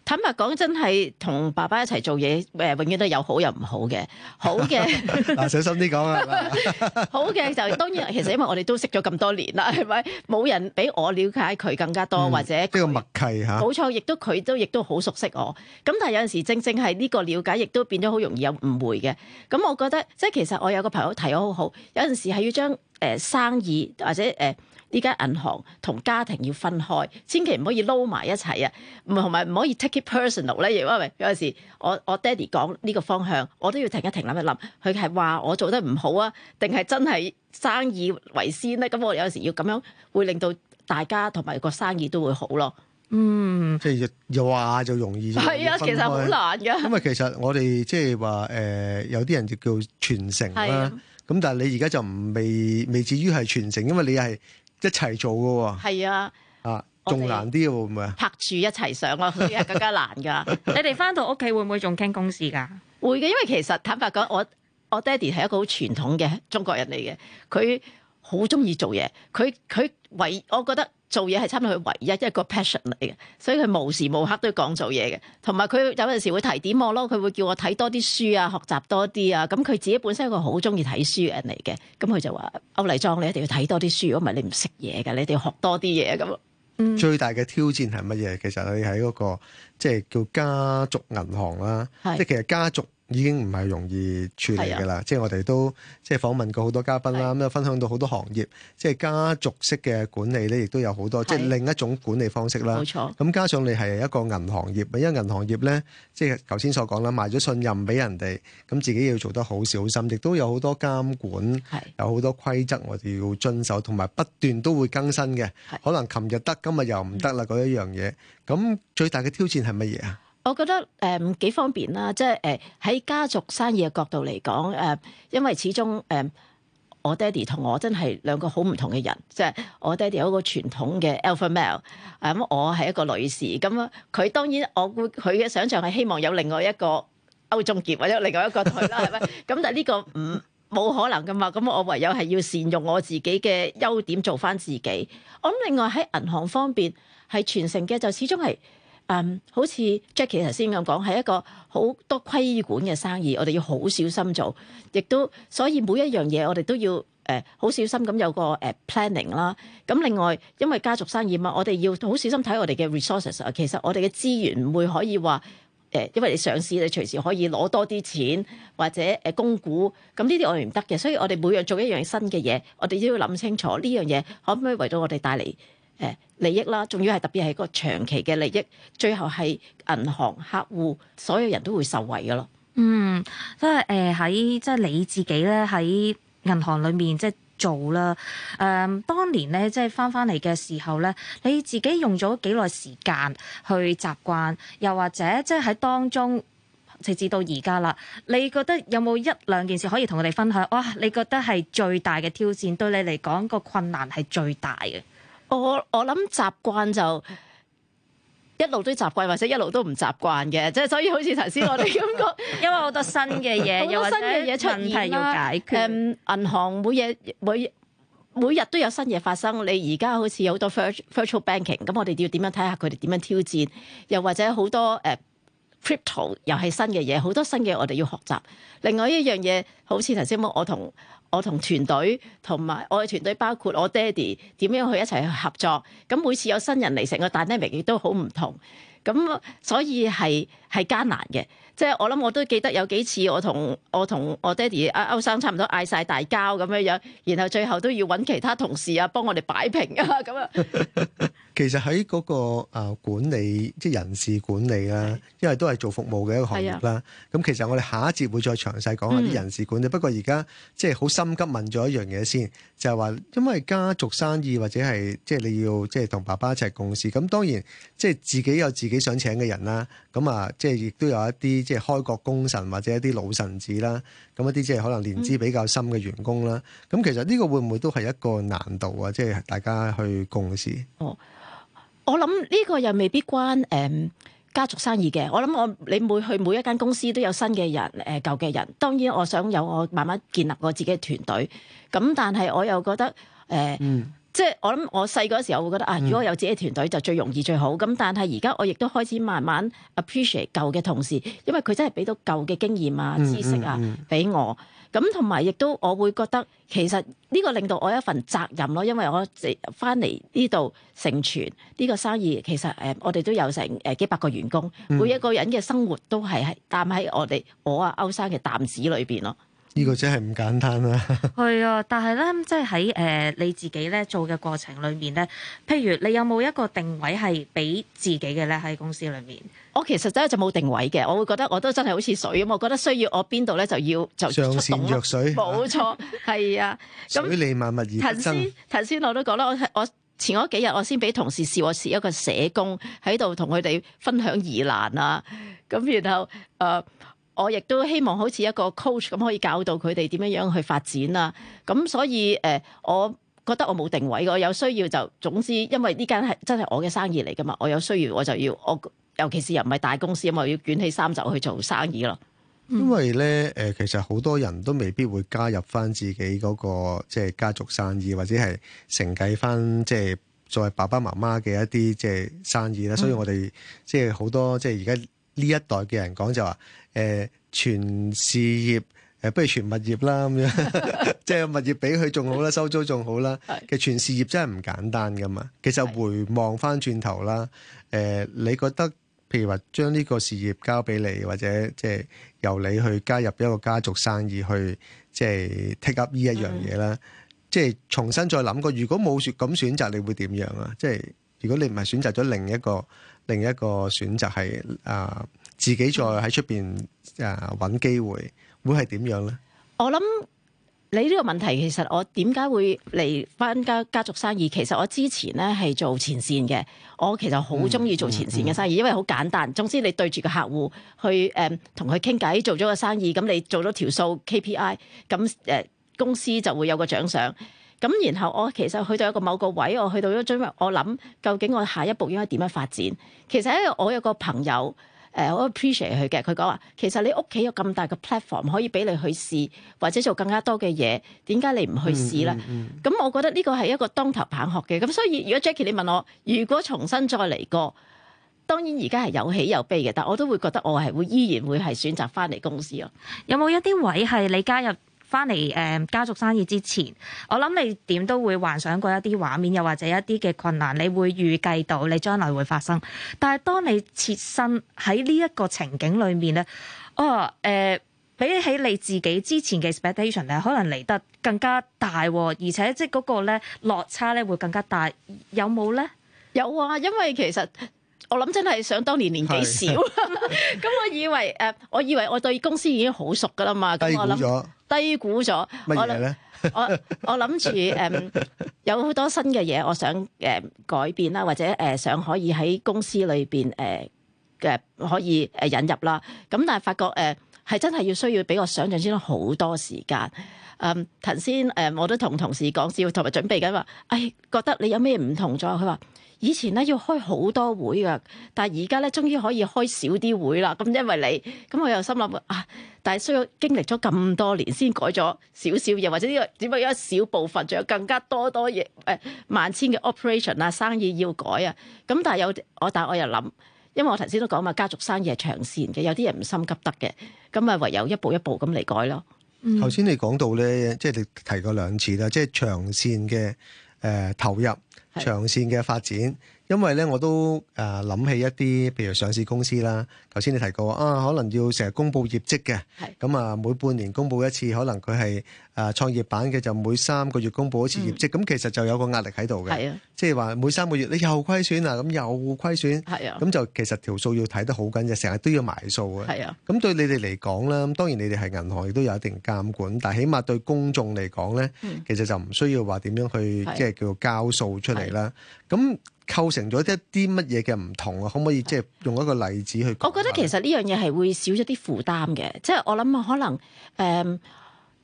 [SPEAKER 6] 坦白講，真係同爸爸一齊做嘢，永遠都有好有唔好嘅。好嘅
[SPEAKER 4] 嗱，小心啲講啊！
[SPEAKER 6] 好嘅就當然，其實因為我哋都識咗咁多年啦，係咪？冇人比我了解佢更加多，或者呢
[SPEAKER 4] 個默契嚇。
[SPEAKER 6] 冇錯，佢亦都好熟悉我。咁但係有陣時正係呢個了解，亦都變咗好容易有誤會嘅。咁我覺得即係其實我有個朋友提我好好，有陣時係要將生意或者呢間銀行同家庭要分開，千祈唔可以撈埋一齊啊！同埋唔可以 take it personal 咧，因為有陣時我爹哋講呢個方向，我都要停一停諗一諗，佢係話我做得唔好啊，定係真係生意為先咧？咁我有時要咁樣，會令到大家同埋個生意都會好咯。
[SPEAKER 4] 即係又話就容易，
[SPEAKER 6] 係啊，其實好難㗎。
[SPEAKER 4] 因為其實我哋即係話有啲人就叫傳承啦。咁但係你而家就未至於係傳承，因為你係一齊做㗎喎。
[SPEAKER 6] 係啊，
[SPEAKER 4] 仲難啲喎，會唔會啊？
[SPEAKER 6] 拍住一齊上咯，佢係更加難㗎。
[SPEAKER 3] 你哋翻到屋企會唔會仲傾公事㗎？
[SPEAKER 6] 會嘅，因為其實坦白講，我爹哋係一個好傳統嘅中國人嚟嘅，佢好中意做嘢，佢我覺得做嘢係差唔多佢唯一一個 passion 嚟嘅，所以佢無時無刻都要講做嘢嘅。同埋佢有陣時會提點我咯，佢會叫我睇多啲書啊，學習多啲啊。咁佢自己本身係一個好中意睇書嘅人嚟嘅，咁佢就話歐麗莊，你一定要睇多啲書，如果唔係你唔識嘢㗎，你一定要學多啲嘢咁。
[SPEAKER 4] 最大嘅挑戰係乜嘢？其實你喺嗰個即係叫家族銀行啦，即係其實家族已經唔係容易處理㗎啦。即係我哋都即係訪問過好多嘉賓啦，咁又分享到好多行業，即係家族式嘅管理咧，亦都有好多，即係另一種管理方式啦。
[SPEAKER 6] 冇錯。咁
[SPEAKER 4] 加上你係一個銀行業，因為銀行業咧，即係頭先所講啦，賣咗信任俾人哋，咁自己要做得好小心，亦都有好多監管，有好多規則我哋要遵守，同埋不斷都會更新嘅。可能琴日得，今日又唔得啦，嗰一樣嘢。咁最大嘅挑戰係乜嘢啊？
[SPEAKER 6] 我覺得幾方便啦，即係喺家族生意嘅角度嚟講，因為始終我爹哋同我真係兩個好唔同嘅人，即係我爹哋有一個傳統嘅 alpha male，咁我係一個女士，咁佢當然佢嘅想像係希望有另外一個歐仲傑或者另外一個佢啦，係咪？咁但係呢個冇可能噶嘛，咁我唯有係要善用我自己嘅優點做翻自己。我諗另外喺銀行方面係傳承嘅，就始終係。好似 Jackie 頭先咁講，係一個好多規管嘅生意，我哋要好小心做，亦都所以每一樣嘢我哋都要好小心咁有個planning 啦。咁另外因為家族生意嘛，我哋要好小心睇我哋嘅 resources 啊。其實我哋嘅資源唔會可以話因為你上市你隨時可以攞多啲錢或者供股，咁呢啲我哋唔得嘅。所以我哋每樣做一樣新嘅嘢，我哋都要諗清楚呢樣嘢可唔可以為到我哋帶嚟利益啦，仲要係特別係個長期嘅利益，最後係銀行客戶所有人都會受惠㗎咯。
[SPEAKER 3] 即係喺即係你自己咧喺銀行裏面即係做啦。當年咧即係翻嚟嘅時候咧，你自己用咗幾耐時間去習慣，又或者即係喺當中直至到而家啦，你覺得有冇一兩件事可以同我哋分享？哇！你覺得係最大嘅挑戰，對你嚟講個困難係最大嘅？
[SPEAKER 6] 我諗習慣就一路都習慣，或者一路都唔習慣嘅，即係所以好似頭先我哋咁講，
[SPEAKER 3] 因為好多新嘅嘢，
[SPEAKER 6] 好多新嘅嘢出現
[SPEAKER 3] 要解決。
[SPEAKER 6] 銀行每日都有新嘢發生。你而家好似有好多 virtual banking， 咁我哋要點樣睇下佢哋點樣挑戰？又或者好多crypto 又係新嘅嘢，好多新嘅我哋要學習。另外一樣嘢，好似頭先我同團隊同埋我嘅團隊包括我爹哋點樣去一齊去合作，咁每次有新人嚟，成個 dynamic 亦都好唔同，咁所以係艱難嘅。即係我諗我都記得有幾次我同我爹哋歐生差唔多嗌晒大交咁樣，然後最後都要揾其他同事啊幫我哋擺平啊咁啊。
[SPEAKER 4] 其實喺嗰個管理即係人事管理啦，因為都係做服務嘅一個行業啦。咁其實我哋下一節會再詳細講下啲人事管理。不過而家即係好心急問咗一樣嘢先，就係話因為家族生意或者係即係你要即係同爸爸一齊共事，咁當然即係自己有自己想請嘅人啦。咁即係亦都有一啲即係開國功臣或者一啲老臣子啦。咁一啲即係可能年資比較深嘅員工啦。咁其實呢個會唔會都係一個難度啊？即係大家去共事。
[SPEAKER 6] 我諗呢個又未必關家族生意嘅。我諗你去每一間公司都有新嘅人舊嘅人。當然我想有我慢慢建立我自己嘅團隊。咁但係我又覺得即係我諗，我細嗰時候會覺得如果有自己嘅團隊就最容易最好。咁但係而家我亦都開始慢慢 appreciate 舊嘅同事，因為佢真係俾到舊嘅經驗啊、知識啊俾我。咁同埋亦都我會覺得其實呢個令到我有一份責任咯，因為我翻嚟呢度成全呢個生意，其實我哋都有成幾百個員工，每一個人嘅生活都係擔喺我歐生嘅擔子裏邊咯。
[SPEAKER 4] 呢個真係唔簡單啦。
[SPEAKER 3] 係啊，但係咧，即係喺你自己咧做嘅過程裏面咧，譬如你有冇一個定位係俾自己嘅咧喺公司裏面？
[SPEAKER 6] 我其實真係就冇定位嘅，我會覺得我都真係好似水咁，我覺得需要我邊度咧就
[SPEAKER 4] 上善若水，
[SPEAKER 6] 冇錯，係啊。
[SPEAKER 4] 水利萬物而不爭。
[SPEAKER 6] 頭先我都講啦，我前嗰幾日我先俾同事試我係一個社工喺度同佢哋分享疑難啊，咁然後我亦都希望好似一個 coach 咁可以教導佢哋點樣去發展啊。咁所以我覺得我冇定位，我有需要就總之，因為呢間係真係我嘅生意嚟噶嘛，我有需要我就要尤其是又唔係大公司，我要捲起衫袖去做生意咯。
[SPEAKER 4] 因為咧其實好多人都未必會加入翻自己嗰個即係家族生意，或者係承繼翻即係作為爸爸媽媽嘅一啲即係生意啦。所以我哋即係好多即係而家呢一代嘅人講就話全事業不如全物業啦咁樣，即係物業俾佢仲好啦，收租仲好啦。其實全事業真係唔簡單噶嘛。其實回望翻轉頭啦，你覺得譬如話將呢個事業交俾你，或者即係由你去加入一個家族生意去即係 take up 呢一樣嘢啦，即係重新再諗過，如果冇咁選擇，你會點樣啊？即係如果你唔係選擇咗另一個選擇係自己再喺出邊揾機會，會係點樣咧？我諗
[SPEAKER 6] 你呢個問題，其實我點解會嚟翻家族生意？其實我之前咧係做前線嘅，我其實好中意做前線嘅生意，因為好簡單。總之你對住個客戶去同佢傾偈，做咗個生意，咁你做咗條數 KPI，咁公司就會有個獎賞。咁然後我其實去到一個某個位，我去到咗最尾，我諗究竟我下一步應該點樣發展？其實咧，我有個朋友。我 appreciate 佢嘅，佢講話其實你屋企有咁大嘅 platform 可以俾你去試，或者做更加多嘅嘢，點解你唔去試咧？咁我覺得呢個係一個當頭棒喝嘅。咁所以如果 Jackie 你問我，如果重新再嚟過，當然而家係有喜有悲嘅，但我都會覺得我係會依然會係選擇翻嚟公司咯。
[SPEAKER 3] 有冇一啲位係你加入翻嚟家族生意之前，我諗你點都會幻想過一啲畫面，又或者一啲嘅困難，你會預計到你將來會發生。但係當你切身喺呢一個情景裏面咧，比起你自己之前嘅 expectation 咧，可能嚟得更加大，而且即係嗰個咧落差咧會更加大。有冇咧？
[SPEAKER 6] 有啊，因為其實我諗真係想當年年紀少，咁我以為我對公司已經好熟噶啦嘛，咁我諗。低估咗
[SPEAKER 4] 乜嘢咧？
[SPEAKER 6] 我諗住有好多新嘅嘢，我想改變啦，或者想可以喺公司裏邊可以引入啦。咁但係發覺係真係要需要比我想象之中好多時間。頭先我都同同事講笑，同埋準備緊話，覺得你有咩唔同咗？佢話以前咧要開好多會噶，但係而家咧終於可以開少啲會啦。咁因為你，咁我又心諗但係需要經歷咗咁多年先改咗少少嘢，或者呢個只不過一小部分，仲有更加多嘢萬千嘅 operation 啊，生意要改啊。咁但係我又諗，因為我頭先都講嘛，家族生意係長線嘅，有啲人唔心急得嘅，咁啊唯有一步一步咁嚟改咯。
[SPEAKER 4] 頭先你講到咧，即係你提過兩次啦，即係長線嘅投入。長線嘅發展，因為咧我都諗起一啲譬如上市公司啦。頭先你提過可能要成日公布業績嘅，咁每半年公布一次，可能佢係創業板嘅就每3個月公布一次業績，咁其實就有個壓力喺度嘅，即係話每3個月你又虧損啊，咁又虧損，咁就其實條數要睇得好緊嘅，成日都要埋數嘅。咁對你哋嚟講啦，當然你哋係銀行亦都有一定監管，但係起碼對公眾嚟講咧，其實就唔需要話點樣去即係叫做交數出嚟啦。咁構成咗一啲乜嘢嘅唔同啊？可唔可以即係用一個例子去講？
[SPEAKER 6] 我覺得其實呢樣嘢係會少咗啲負擔嘅，即係我諗可能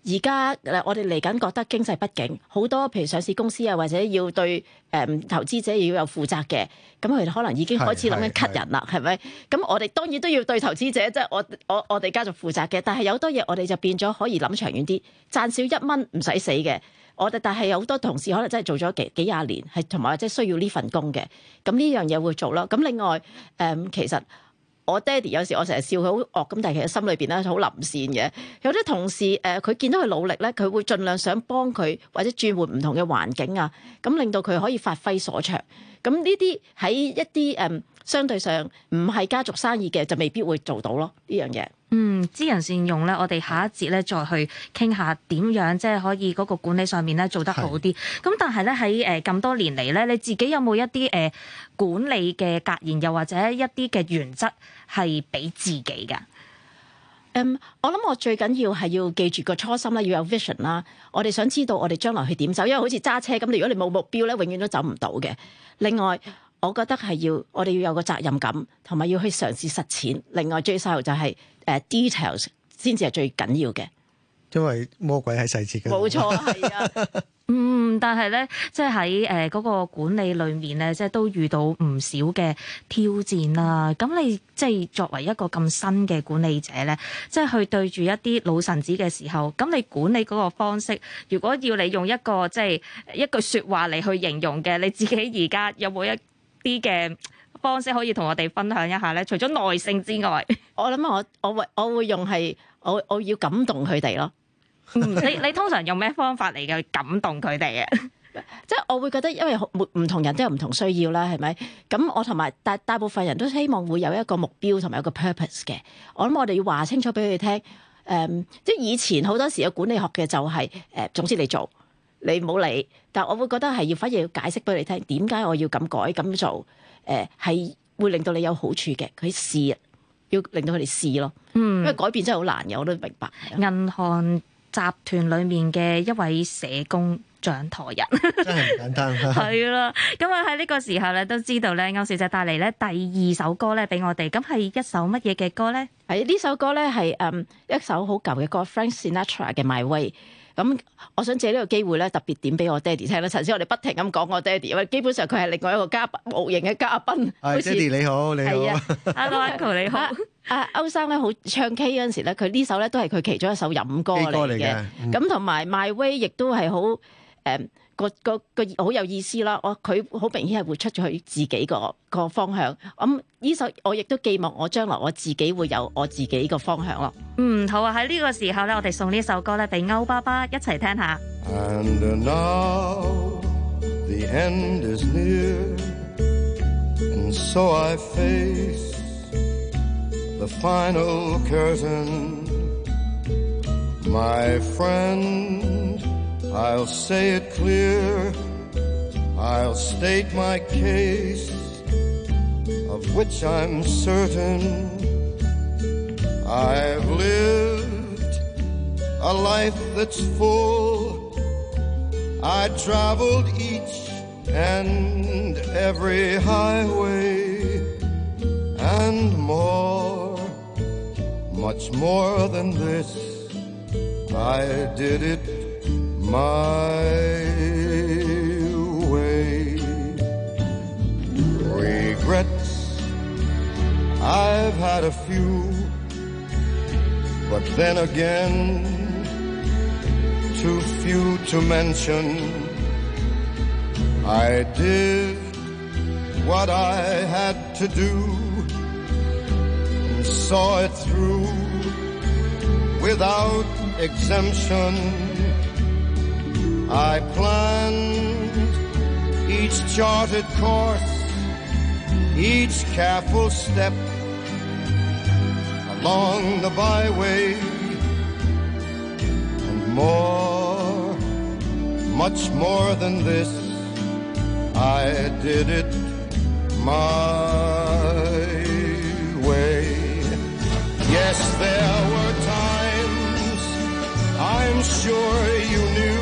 [SPEAKER 6] 而家我哋嚟緊覺得經濟不景，好多譬如上市公司啊，或者要對投資者要有負責嘅，咁佢哋可能已經開始諗緊 cut 人啦，係咪？咁我哋當然都要對投資者即係我哋家族負責嘅，但係有好多嘢我哋就變咗可以諗長遠啲，賺少1蚊唔使死嘅。但係有好多同事可能真係做咗幾廿年，係同埋即係需要呢份工嘅，咁呢樣嘢會做咯。咁另外其實我爹哋有時我成日笑佢好惡咁，但係其實心裏邊咧好良善嘅。有啲同事佢見到佢努力咧，佢會盡量想幫佢或者轉換唔同嘅環境啊，咁令到佢可以發揮所長。咁呢啲喺一啲相對上唔係家族生意嘅就未必會做到咯呢樣嘢。
[SPEAKER 3] 知人善用咧，我哋下一節咧再去傾下點樣即係可以嗰個管理上面咧做得好啲。咁但係咧喺咁多年嚟咧，你自己有冇一啲管理嘅格言，又或者一啲嘅原則係俾自己㗎？
[SPEAKER 6] 我諗我最緊要係要記住個初心啦，要有 vision 啦。我哋想知道我哋將來去點走，因為好似揸車咁，如果你冇目標咧，永遠都走唔到嘅。另外，我覺得係我哋要有個責任感，同埋要去嘗試實踐。另外最細就係details 先至係最緊要嘅，
[SPEAKER 4] 因為魔鬼喺細節嘅。
[SPEAKER 6] 冇錯，係啊。
[SPEAKER 3] 但係咧，即係喺嗰個管理裏面咧，即係都遇到唔少嘅挑戰啦。咁你即係作為一個咁新嘅管理者咧，即係去對住一啲老臣子嘅時候，咁你管理嗰個方式，如果要你用一個即係一句説話嚟去形容嘅，你自己而家有冇一啲嘅方式可以同我哋分享一下咧？除咗耐性之外，
[SPEAKER 6] 我諗我會用係我要感動佢哋咯。
[SPEAKER 3] 你通常用咩方法嚟嘅感動佢哋啊？
[SPEAKER 6] 即係我會覺得，因為唔同人都有唔同需要啦，係咪？咁我同埋大部分人都希望會有一個目標同埋有個 purpose 嘅。我諗我哋要話清楚俾佢聽。即係以前好多時嘅管理學嘅就係總之你做，你唔好理。但係我會覺得係要反而要解釋俾你聽，點解我要咁改咁做？係會令到你有好處嘅。佢試，要令到佢哋試咯。因為改變真係好難嘅，我都明白。
[SPEAKER 3] 銀行集團裡面嘅一位社工掌舵人，
[SPEAKER 4] 真係唔簡單。
[SPEAKER 3] 係啦，咁啊喺呢個時候咧，都知道咧，歐小姐帶嚟咧第2首歌咧俾我哋，咁係一首乜嘢嘅歌咧？
[SPEAKER 6] 係呢首歌咧係一首好舊嘅歌 ，Frank Sinatra 嘅 My Way。咁我想借呢個機會咧，特別點俾我爹哋聽啦。頭先我哋不停咁講我爹哋，因為基本上佢係另外一個無形嘅嘉賓。
[SPEAKER 4] 爹哋你好，你好。
[SPEAKER 3] Hello Uncle 你好。
[SPEAKER 6] 歐生咧好唱 K 嗰陣時咧，佢呢首咧都係佢其中一首飲歌嚟嘅。咁同埋 My Way 亦都係好個好有意思啦。佢好明顯係會出咗佢自己個方向。咁呢首我亦都寄望我將來我自己會有我自己個方向咯。
[SPEAKER 3] 好啊！喺呢個時候咧，我哋送呢首歌咧俾歐爸爸一齊聽下。
[SPEAKER 13] And now the end is near, and so I face the final curtain. My friend, I'll say it clear, I'll state my case, of which I'm certain. I've lived a life that's full. I traveled each and every highway and more, much more than this. I did it my way. Regrets, I've had a few, but then again, too few to mention. I did what I had to do and saw it through without exemption. I planned each charted course, each careful step along the byway, and more, much more than this, I did it my way. Yes, there were times, I'm sure you knew,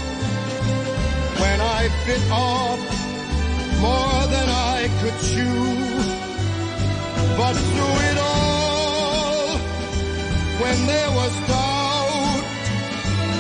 [SPEAKER 13] when I bit off more than I could chew. But through it all, when there was doubt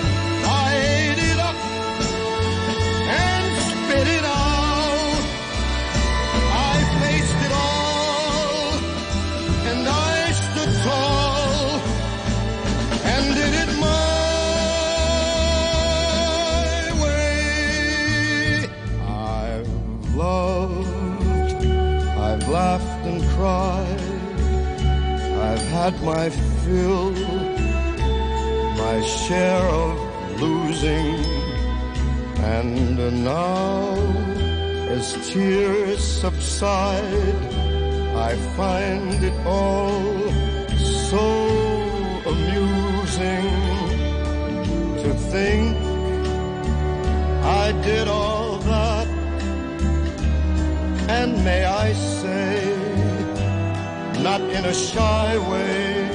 [SPEAKER 13] fill my share of losing, and now as tears subside, I find it all so amusing to think I did all that, and may I say, not in a shy way,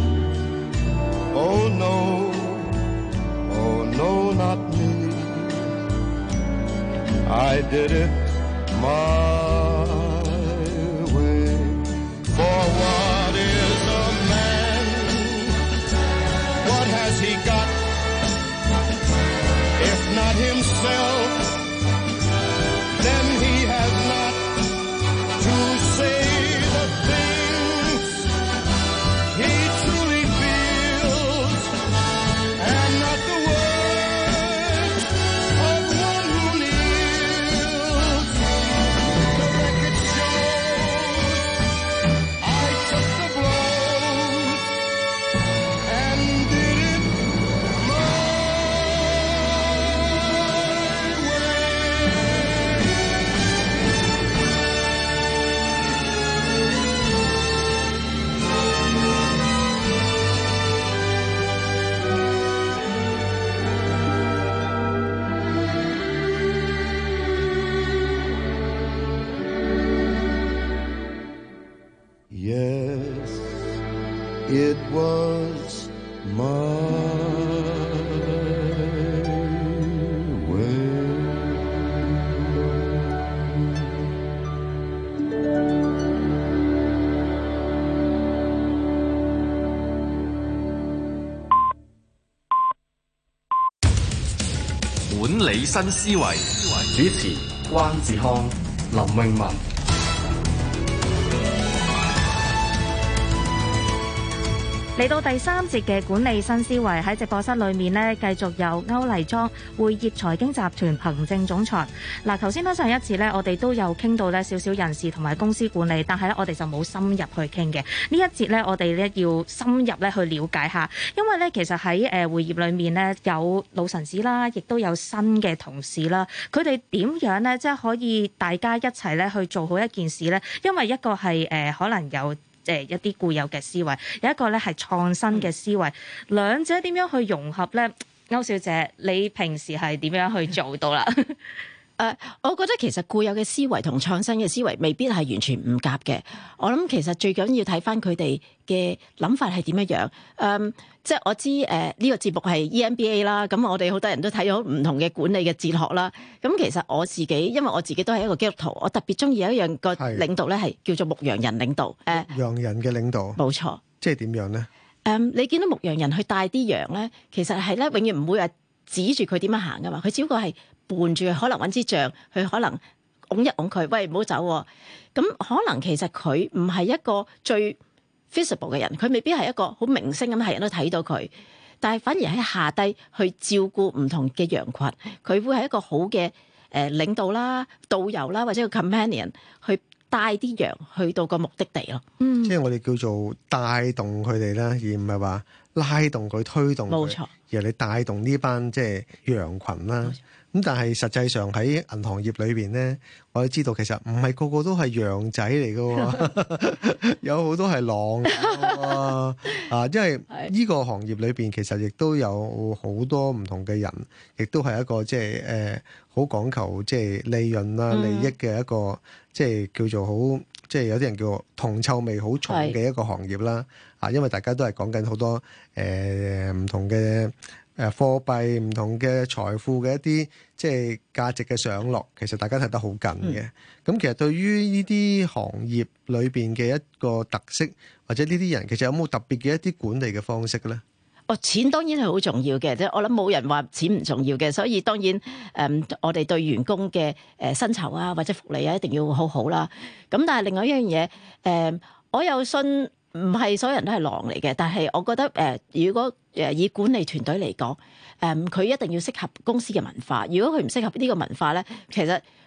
[SPEAKER 13] oh no, not me. I did it my way. For what is a man? What has he got? If not himself, then he has not to say the things he truly feels, and not the words of one who kneels. The record shows I took the blows and did it my Yes, it was my way.
[SPEAKER 7] 管理新思維，
[SPEAKER 2] 主持關志康、林詠雯。
[SPEAKER 3] 嚟到第三節嘅管理新思維，喺直播室裏面呢，繼續有歐麗莊匯業財經集團行政總裁。嗱，頭先上一次呢，我哋都有傾到呢少少人事同埋公司管理，但係呢，我哋就冇深入去傾嘅。呢一節呢，我哋呢要深入呢去了解下，因為呢，其實喺匯業裏面呢，有老臣子啦，亦都有新嘅同事啦，佢哋點樣呢？即係可以大家一齊呢去做好一件事呢？因為一個係可能有一啲固有嘅思維，有一個咧係創新嘅思維，兩者點樣去融合咧？歐小姐，你平時係點樣去做到啦？
[SPEAKER 6] 我覺得其實固有嘅思維同創新嘅思維未必係完全唔夾嘅。我諗其實最緊要睇翻佢哋嘅諗法係點樣樣。即係我知呢個節目係 EMBA 啦，咁我哋好多人都睇咗唔同嘅管理嘅哲學啦。咁其實我自己，因為我自己都係一個基督徒，我特別中意有一樣個領導咧係叫做牧羊人領導。
[SPEAKER 4] 牧羊人嘅領導，冇
[SPEAKER 6] 錯。
[SPEAKER 4] 即係點樣咧？
[SPEAKER 6] 你見到牧羊人去帶啲羊咧，其實係咧永遠唔會話指住佢點樣行噶嘛，佢只不過係伴住佢，可能揾支杖，佢可能拱一拱佢，喂，唔好走喎。咁可能其實佢唔係一個最 visible 嘅人，佢未必係一個好明星咁，係人都睇到佢，但係反而喺下低去照顧唔同嘅羊群，佢會係一個好嘅領導啦、導遊啦，或者個 companion 去帶啲羊去到個目的地咯。
[SPEAKER 4] 即係我哋叫做帶動佢哋啦，而唔係話拉動佢、推動佢。冇錯，而係你帶動呢班即係羊群啦。咁但係實際上喺銀行業裏邊咧，我哋知道其實唔係個個都係羊仔嚟㗎，有好多係狼啊！因為呢個行業裏邊其實亦都有好多唔同嘅人，亦都係一個即係好講求即係利潤啦、利益嘅一個即係叫做好即係有啲人叫銅臭味好重嘅一個行業啦。因為大家都係講緊好多唔同嘅貨幣唔同嘅財富嘅一啲即係價值嘅上落，其實大家睇得好緊嘅。咁其實對於呢啲行業裏邊嘅一個特色，或者呢啲人其實有冇特別嘅一啲管理嘅方式咧？
[SPEAKER 6] 錢當然係好重要嘅，即係我諗冇人話錢唔重要嘅，所以當然我哋對員工嘅薪酬啊或者福利啊一定要好好啦。咁但係另外一樣嘢我有信。唔係所有人都係狼嚟嘅，但係我覺得如果以管理團隊嚟講，佢一定要適合公司嘅文化。如果佢唔適合呢個文化咧，其實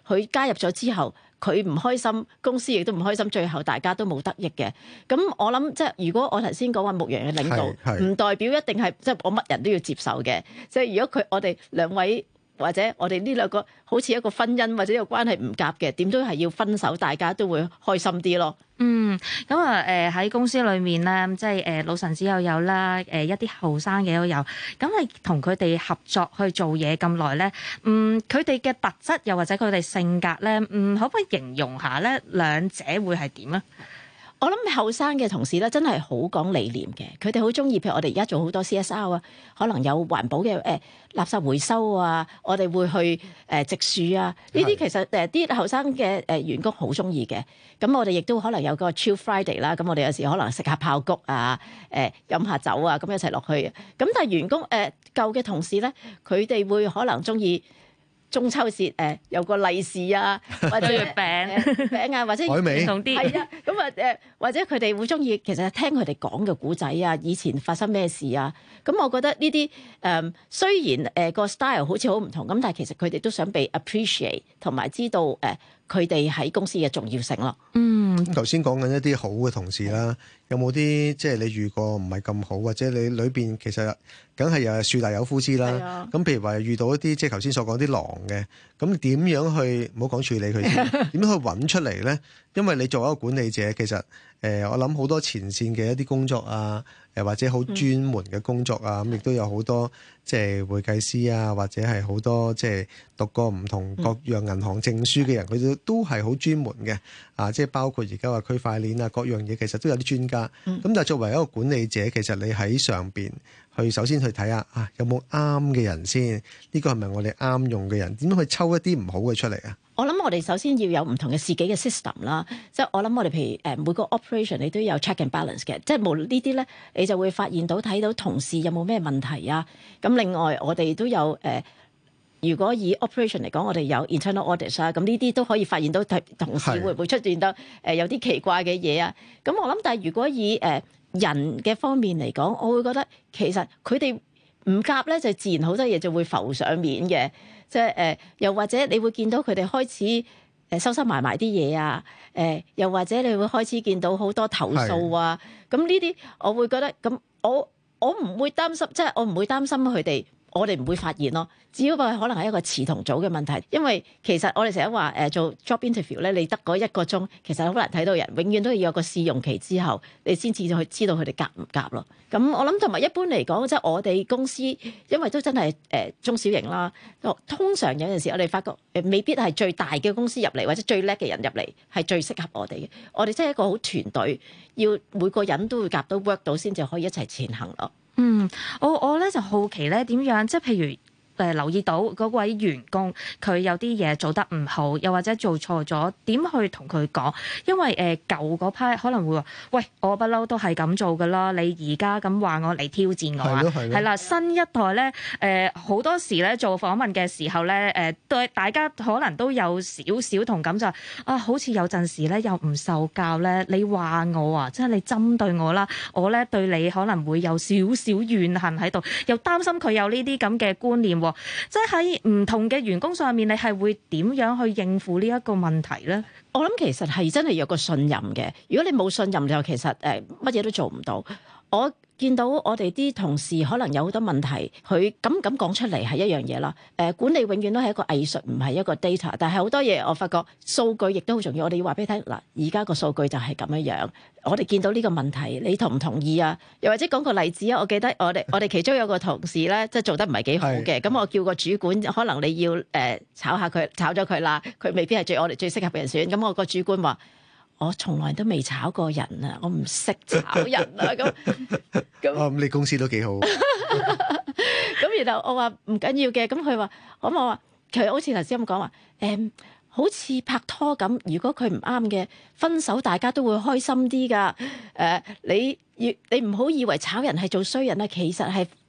[SPEAKER 6] 佢加入咗之後，佢唔開心，公司亦都唔開心，最後大家都冇得益嘅。咁我諗即係如果我頭先講話牧羊嘅領導，唔代表一定係即係我乜人都要接受嘅。即係如果我哋兩位或者我哋呢兩個好似一個婚姻或者個關係唔夾嘅，點都係要分手，大家都會開心啲咯。
[SPEAKER 3] 咁啊喺公司裏面咧，即係老臣子又有啦，一啲後生嘅都有。咁你同佢哋合作去做嘢咁耐咧，佢哋嘅特質又或者佢哋性格咧，可唔可以形容下咧兩者會係點啊？
[SPEAKER 6] 我諗後生嘅同事咧，真係好講理念嘅。佢哋好中意，譬如我哋而家做好多 CSR 啊，可能有環保嘅垃圾回收啊，我哋會去植樹啊。呢啲其實啲後生嘅員工好中意嘅。咁我哋亦都可能有個 Chill Friday 啦。咁我哋有時可能食下爆谷啊，飲下酒啊，咁一齊落去。咁但係員工舊嘅同事咧，佢哋會可能中意中秋節有個利是啊，或者
[SPEAKER 3] 月
[SPEAKER 6] 餅啊，或者唔同啲係啊，咁啊或者佢哋會中意其實聽佢哋講嘅古仔啊，以前發生咩事啊，咁我覺得呢啲雖然個 style 好似好唔同，咁但係其實佢哋都想被 appreciate 同埋知道佢哋喺公司嘅重要性咯。
[SPEAKER 4] 頭先講緊一啲好嘅同事啦，有冇啲即係你遇過唔係咁好，或者你裏邊其實梗係有樹大有枯枝啦。咁譬如話遇到一啲即係頭先所講啲狼嘅，咁點樣去唔好講處理佢先，點樣去揾出嚟咧？因為你作為一個管理者，其實我諗好多前線嘅一啲工作啊，或者好專門嘅工作啊，咁亦都有好多即係會計師啊，或者係好多即係讀過唔同各樣銀行證書嘅人，佢都係好專門嘅啊！即係包括而家話區塊鏈啊，各樣嘢其實都有啲專家。咁但係作為一個管理者，其實你喺上邊去首先去睇下有冇啱嘅人先，呢個係咪我哋啱用嘅人？點樣去抽一啲唔好嘅出嚟啊？
[SPEAKER 6] 我諗我哋首先要有唔同嘅自己嘅 system 啦，即係我諗我哋譬如每個 operation 你都有 check and balance 嘅，即係冇呢啲咧，你就會發現到睇到同事有冇咩問題啊。咁另外我哋都有如果以 operation 嚟講，我哋有 internal audit 啊，咁呢啲都可以發現到同事會唔會出現到有啲奇怪嘅嘢啊。咁我諗，但係如果以人嘅方面嚟講，我會覺得其實佢哋唔夾咧，就自然好多嘢就會浮上面嘅。即係又或者你會見到佢哋開始收收埋埋啲嘢啊，又或者你會開始見到好多投訴啊。咁呢啲我會覺得咁，我唔會擔心，即係我唔會擔心佢哋。我哋唔會發現咯，只不過可能係一個詞同組嘅問題。因為其實我哋成日話做 job interview 咧，你得嗰1個鐘，其實好難睇到人，永遠都要有個試用期之後，你先至去知道佢哋夾唔夾咯。咁我諗同埋一般嚟講，即係我哋公司，因為都真係中小型啦，通常有陣時我哋發覺未必係最大嘅公司入嚟，或者最叻嘅人入嚟係最適合我哋嘅。我哋真係一個好團隊，要每個人都會夾到 work 到，先至可以一齊前行咯。
[SPEAKER 3] 我咧就好奇咧點樣，即係譬如留意到嗰位員工佢有啲嘢做得唔好，又或者做錯咗，點去同佢講？因為舊嗰批可能會話：喂，我不嬲都係咁做噶啦，你而家咁話我嚟挑戰我啊？係啦，新一代咧好多時咧做訪問嘅時候咧對大家可能都有少少同感，就係好似有陣時咧又唔受教咧，你話我啊，即係你針對我啦，我咧對你可能會有少少怨恨喺度，又擔心佢有呢啲咁嘅觀念。即係喺唔同嘅員工上面，你係會點樣去應付呢一個問題咧？
[SPEAKER 6] 我諗其實係真係有個信任嘅。如果你冇信任就其實乜嘢都做唔到。我見到我哋啲同事可能有好多問題，佢咁講出嚟係一樣嘢啦。管理永遠都係一個藝術，唔係一個 data。但係好多嘢我發覺數據亦都好重要。我哋要話俾你聽嗱，而家個數據就係咁樣。我哋見到呢個問題，你同唔同意啊？又或者講個例子啊？我記得我哋其中有個同事咧，即係做得唔係幾好嘅。咁我叫個主管，可能你要炒下佢，炒咗佢啦，佢未必係我哋最適合嘅人選。咁我個主管話：我從來都未炒過人啊，我唔識炒人啊。咁
[SPEAKER 4] 你公司都幾好。
[SPEAKER 6] 咁然後我話唔緊要嘅，咁佢話，我話佢好似頭先咁講話，好似拍拖咁，如果佢唔啱嘅，分手大家都會開心啲噶。你唔好以為炒人係做衰人啊，其實係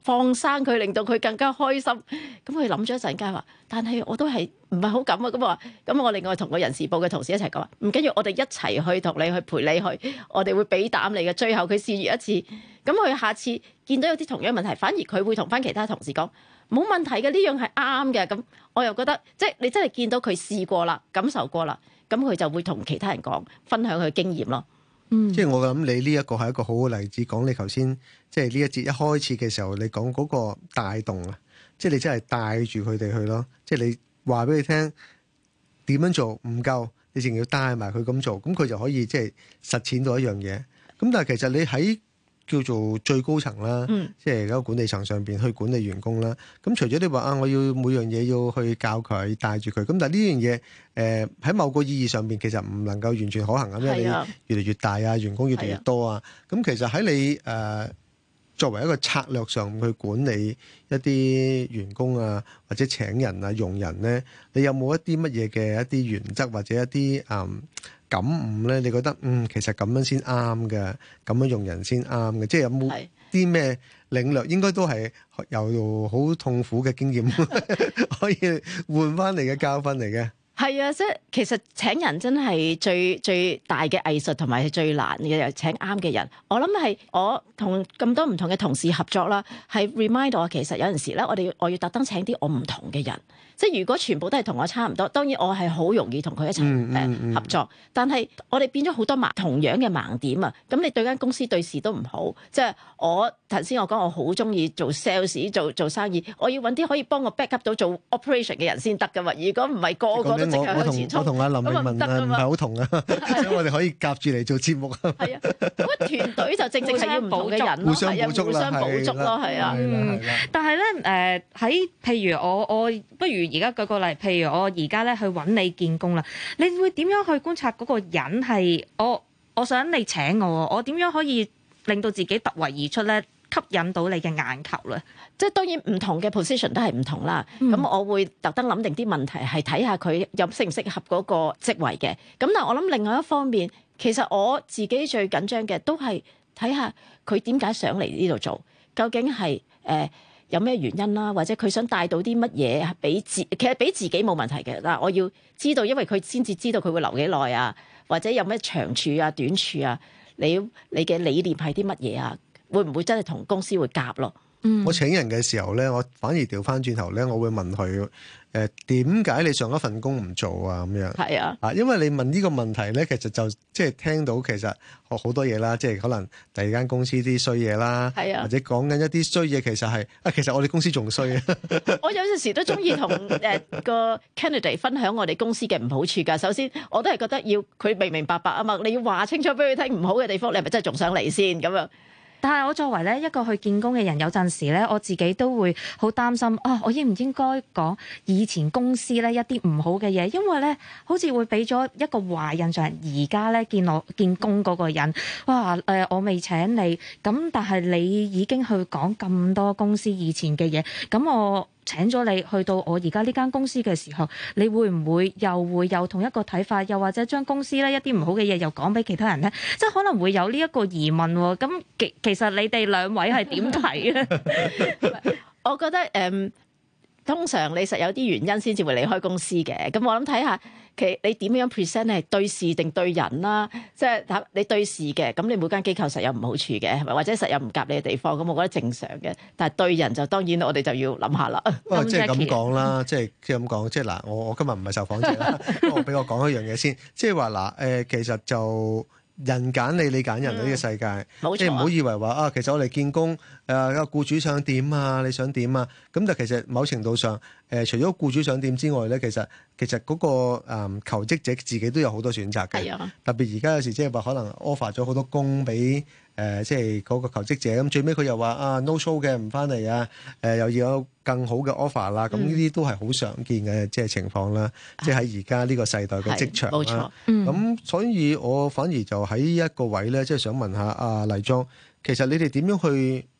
[SPEAKER 6] 放生佢，令到佢更加開心。咁佢諗咗一陣間話，但係我都係唔係好敢啊。咁我另外同個人事部嘅同事一齊講話，唔緊要，我哋一齊去同你去陪你去，我哋會俾膽你嘅。最後佢試完一次，咁佢下次見到有啲同樣問題，反而佢會同翻其他同事講冇問題嘅，呢樣係啱嘅。咁我又覺得即係你真係見到佢試過啦，感受過啦，咁佢就會同其他人講，分享佢經驗咯。
[SPEAKER 4] 即係我諗你呢一個係一個好好例子，講你頭先即係呢一節一開始嘅時候，你講嗰個帶動啊，即係你真係帶住佢哋去咯，即係你話俾佢聽點樣做唔夠，你仲要帶埋佢咁做，咁佢就可以即係實踐到一樣嘢。咁但係其實你喺叫做最高層啦，即係嗰個管理層上邊去管理員工啦。咁除咗你話啊，我要每樣嘢要去教佢帶住佢，咁但係呢樣嘢喺某個意義上邊其實唔能夠完全可行咁，因為你越嚟越大啊，員工越嚟越多啊。咁其實喺你作為一個策略上去管理一啲員工啊，或者請人啊、用人咧，你有冇一啲乜嘢嘅一啲原則或者一啲感悟咧？你覺得其實咁樣先啱嘅，咁樣用人先啱嘅，即係有冇啲咩領略？應該都係由好痛苦嘅經驗可以換翻嚟嘅教訓嚟嘅。
[SPEAKER 6] 係啊，即係其實請人真係最大嘅藝術，同埋係最難嘅，請啱嘅人。我諗係我同咁多唔同嘅同事合作啦，係 remind 我其實有陣時咧，我要特登請啲我唔同嘅人。即係如果全部都係同我差唔多，當然我係好容易同佢一齊合作。但係我哋變咗好多同樣嘅盲點啊！咁你對間公司對事都唔好。即係我頭先我講我好中意做 sales 做生意，我要揾啲可以幫我 back up 到做 operation 嘅人先得噶嘛。如果唔係個個都即刻向前衝，
[SPEAKER 4] 我同阿林詠雯唔係好同啊，所以我哋可以夾住嚟做節目。
[SPEAKER 6] 係啊，咁團隊就正係要唔同嘅人咯，
[SPEAKER 4] 互相補足
[SPEAKER 6] 咯，係啊。
[SPEAKER 3] 但係咧喺譬如我不如。而家舉個例，譬如我而家咧去揾你見工啦，你會點樣去觀察嗰個人係我想你請我點樣可以令到自己突圍而出咧，吸引到你嘅眼球咧？
[SPEAKER 6] 即係當然唔同嘅 position 都係唔同啦。咁我會特登諗定啲問題，係睇下佢有適唔適合嗰個職位嘅。咁但係我諗另外一方面，其實我自己最緊張嘅都係睇下佢點解想嚟呢度做，究竟係有咩原因啦，或者佢想帶到啲乜嘢其實俾自己冇問題嘅。嗱，我要知道，因為佢先至知道佢會留幾耐啊，或者有咩長處啊、短處啊，你嘅理念係啲乜嘢啊？會唔會真係同公司會夾咯？
[SPEAKER 4] 我請人嘅時候咧，我反而調翻轉頭咧，我會問佢點解你上一份工唔做啊？咁樣
[SPEAKER 6] 係啊，
[SPEAKER 4] 因為你問呢個問題咧，其實就即係聽到其實學好多嘢啦，即係可能第二間公司啲衰嘢啦，或者講緊一啲衰嘢，其實係其實我哋公司仲衰啊！
[SPEAKER 6] 我有陣時都中意同個 candidate 分享我哋公司嘅唔好處㗎。首先，我都係覺得要佢明白啊嘛，你要話清楚俾佢聽唔好嘅地方，你係咪真係仲想嚟先咁樣？
[SPEAKER 3] 但係我作為咧一個去見工嘅人，有陣時咧我自己都會好擔心我應唔應該講以前公司咧一啲唔好嘅嘢，因為咧好似會俾咗一個壞印象。而家咧見工嗰個人，哇我未請你，咁但係你已經去講咁多公司以前嘅嘢，咁我請咗你去到我而家呢間公司嘅時候，你會唔會有同一個睇法，又或者將公司咧一啲唔好嘅嘢又講俾其他人咧？即係可能會有呢一個疑問喎。咁其實你哋兩位係點睇咧？
[SPEAKER 6] 我覺得通常你實有啲原因先至會離開公司嘅。咁我諗睇下你點樣 present 係對事定對人啦。即係你對事嘅，咁你每間機構實有唔好處嘅，或者實有唔夾你嘅地方，咁我覺得正常嘅。但係對人就當然我哋就要諗下啦。
[SPEAKER 4] 即係咁講啦，即係咁講，即係嗱，我今日唔係受訪者啦，俾我講一樣嘢先，即係話嗱其實就。人揀你，你揀人呢個世界，即係唔好以為話其實我哋見工個僱主想點啊，你想點啊？咁但其實某程度上除咗僱主想點之外咧，其實嗰個求職者自己都有好多選擇嘅。特別而家有時即係話可能 offer 咗好多工俾即係嗰個求職者，咁最尾佢又話no show 嘅唔翻嚟啊，又要有更好嘅 offer 啦。咁呢啲都係好常見嘅即係情況啦。即係喺而家呢個世代嘅職場啦。冇錯。咁所以我反而就喺一個位咧，即係想問下黎莊，其實你哋點樣去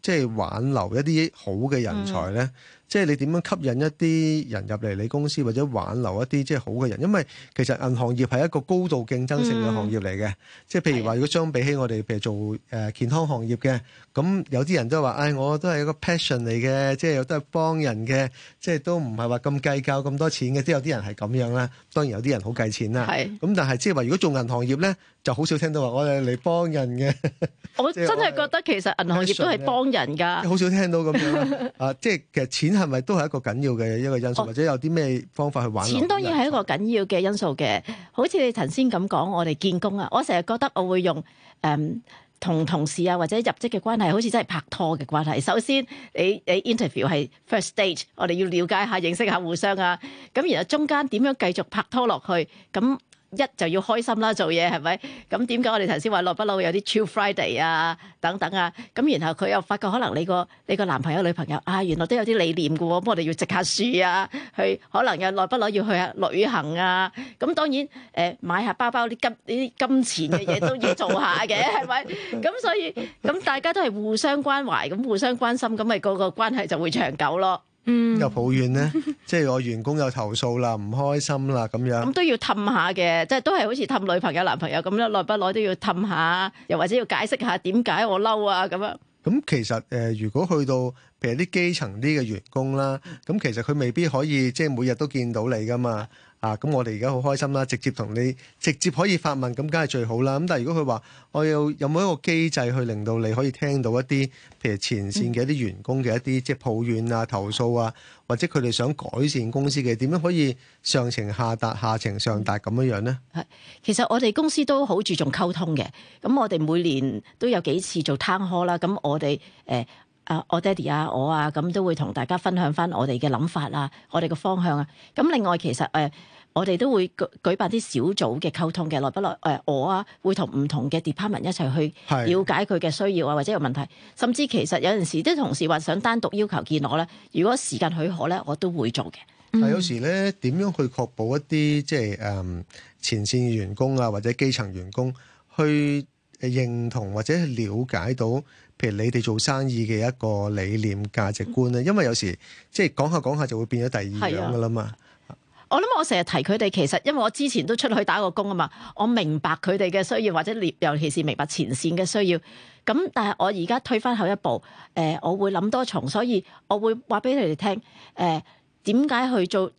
[SPEAKER 4] 即係挽留一啲好嘅人才咧？即係你點樣吸引一啲人入嚟你公司，或者挽留一啲即係好嘅人？因為其實銀行業係一個高度競爭性嘅行業嚟嘅。即係譬如話，如果相比起我哋譬如做健康行業嘅，咁有啲人都話，我都係一個 passion 嚟嘅，即係都係幫人嘅，即係都唔係話咁計較咁多錢嘅。即係有啲人係咁樣啦。當然有啲人好計錢啦。咁但係即係話，如果做銀行業咧，就好少聽到話我哋嚟幫人嘅。
[SPEAKER 6] 我真係覺得其實銀行業都係幫人㗎。
[SPEAKER 4] 好少聽到咁樣即係其實錢係咪都係一個緊要嘅一個因素，或者有啲咩方法去挽留？
[SPEAKER 6] 錢當然係一個緊要嘅因素嘅。好似你頭先咁講，我哋見工啊，我成日覺得我會用同同事啊或者入職嘅關係，好似真係拍拖嘅關係。首先你 interview 係 first stage， 我哋要了解下、認識下互相啊。咁然後中間點樣繼續拍拖落去？咁一就要開心啦，做嘢係咪？咁點解我哋頭先話耐不耐會有啲 Chill Friday 啊等等啊？咁然後佢又發覺可能你個男朋友女朋友原來都有啲理念嘅喎，咁我哋要植下樹啊，去可能又耐不耐要去下旅行啊。咁當然買下包包啲金錢嘅嘢都要做下嘅，係咪？咁所以咁大家都係互相關懷，咁互相關心，咁咪個關係就會長久咯。
[SPEAKER 4] 有抱怨咧，即係我員工有投訴啦，唔開心啦咁樣。
[SPEAKER 6] 咁都要氹下嘅，即係都係好似氹女朋友男朋友咁樣，耐不耐都要氹下，又或者要解釋下點解我嬲啊咁樣。
[SPEAKER 4] 咁其實如果去到譬如啲基層啲嘅員工啦，咁其實佢未必可以即係每日都見到你噶嘛。咁我哋而家好開心啦，直接同你直接可以發問，咁梗係最好啦。咁但係如果佢話我有冇一個機制去令到你可以聽到一啲譬如前線嘅一啲員工嘅一啲即係抱怨啊、投訴啊，或者佢哋想改善公司嘅，點樣可以上情下達、下情上達咁樣樣呢？
[SPEAKER 6] 其實我哋公司都好注重溝通嘅。咁我哋每年都有幾次做 town hall啦。咁我哋我爹哋啊，我啊，咁都會同大家分享翻我哋嘅諗法啊，我哋嘅方向啊。咁另外其實我哋都會舉辦啲小組嘅溝通嘅，耐不耐我啊會同唔同嘅 department 一齊去了解佢嘅需要啊，或者有問題，甚至其實有陣時啲同事話想單獨要求見我咧，如果時間許可咧，我都會做嘅。
[SPEAKER 4] 但有時咧，點樣去確保一啲即係前線員工啊，或者基層員工去認同或者了解到，譬如你哋做生意嘅一個理念、價值觀咧？因為有時即係講下講下就會變咗第二樣噶啦嘛。
[SPEAKER 6] 我諗我成日提佢哋，其實因為我之前都出去打過工啊嘛，我明白佢哋嘅需要，或者尤其是明白前線嘅需要。咁但係我而家退翻後一步，我會諗多重，所以我會話俾你哋聽，點解去做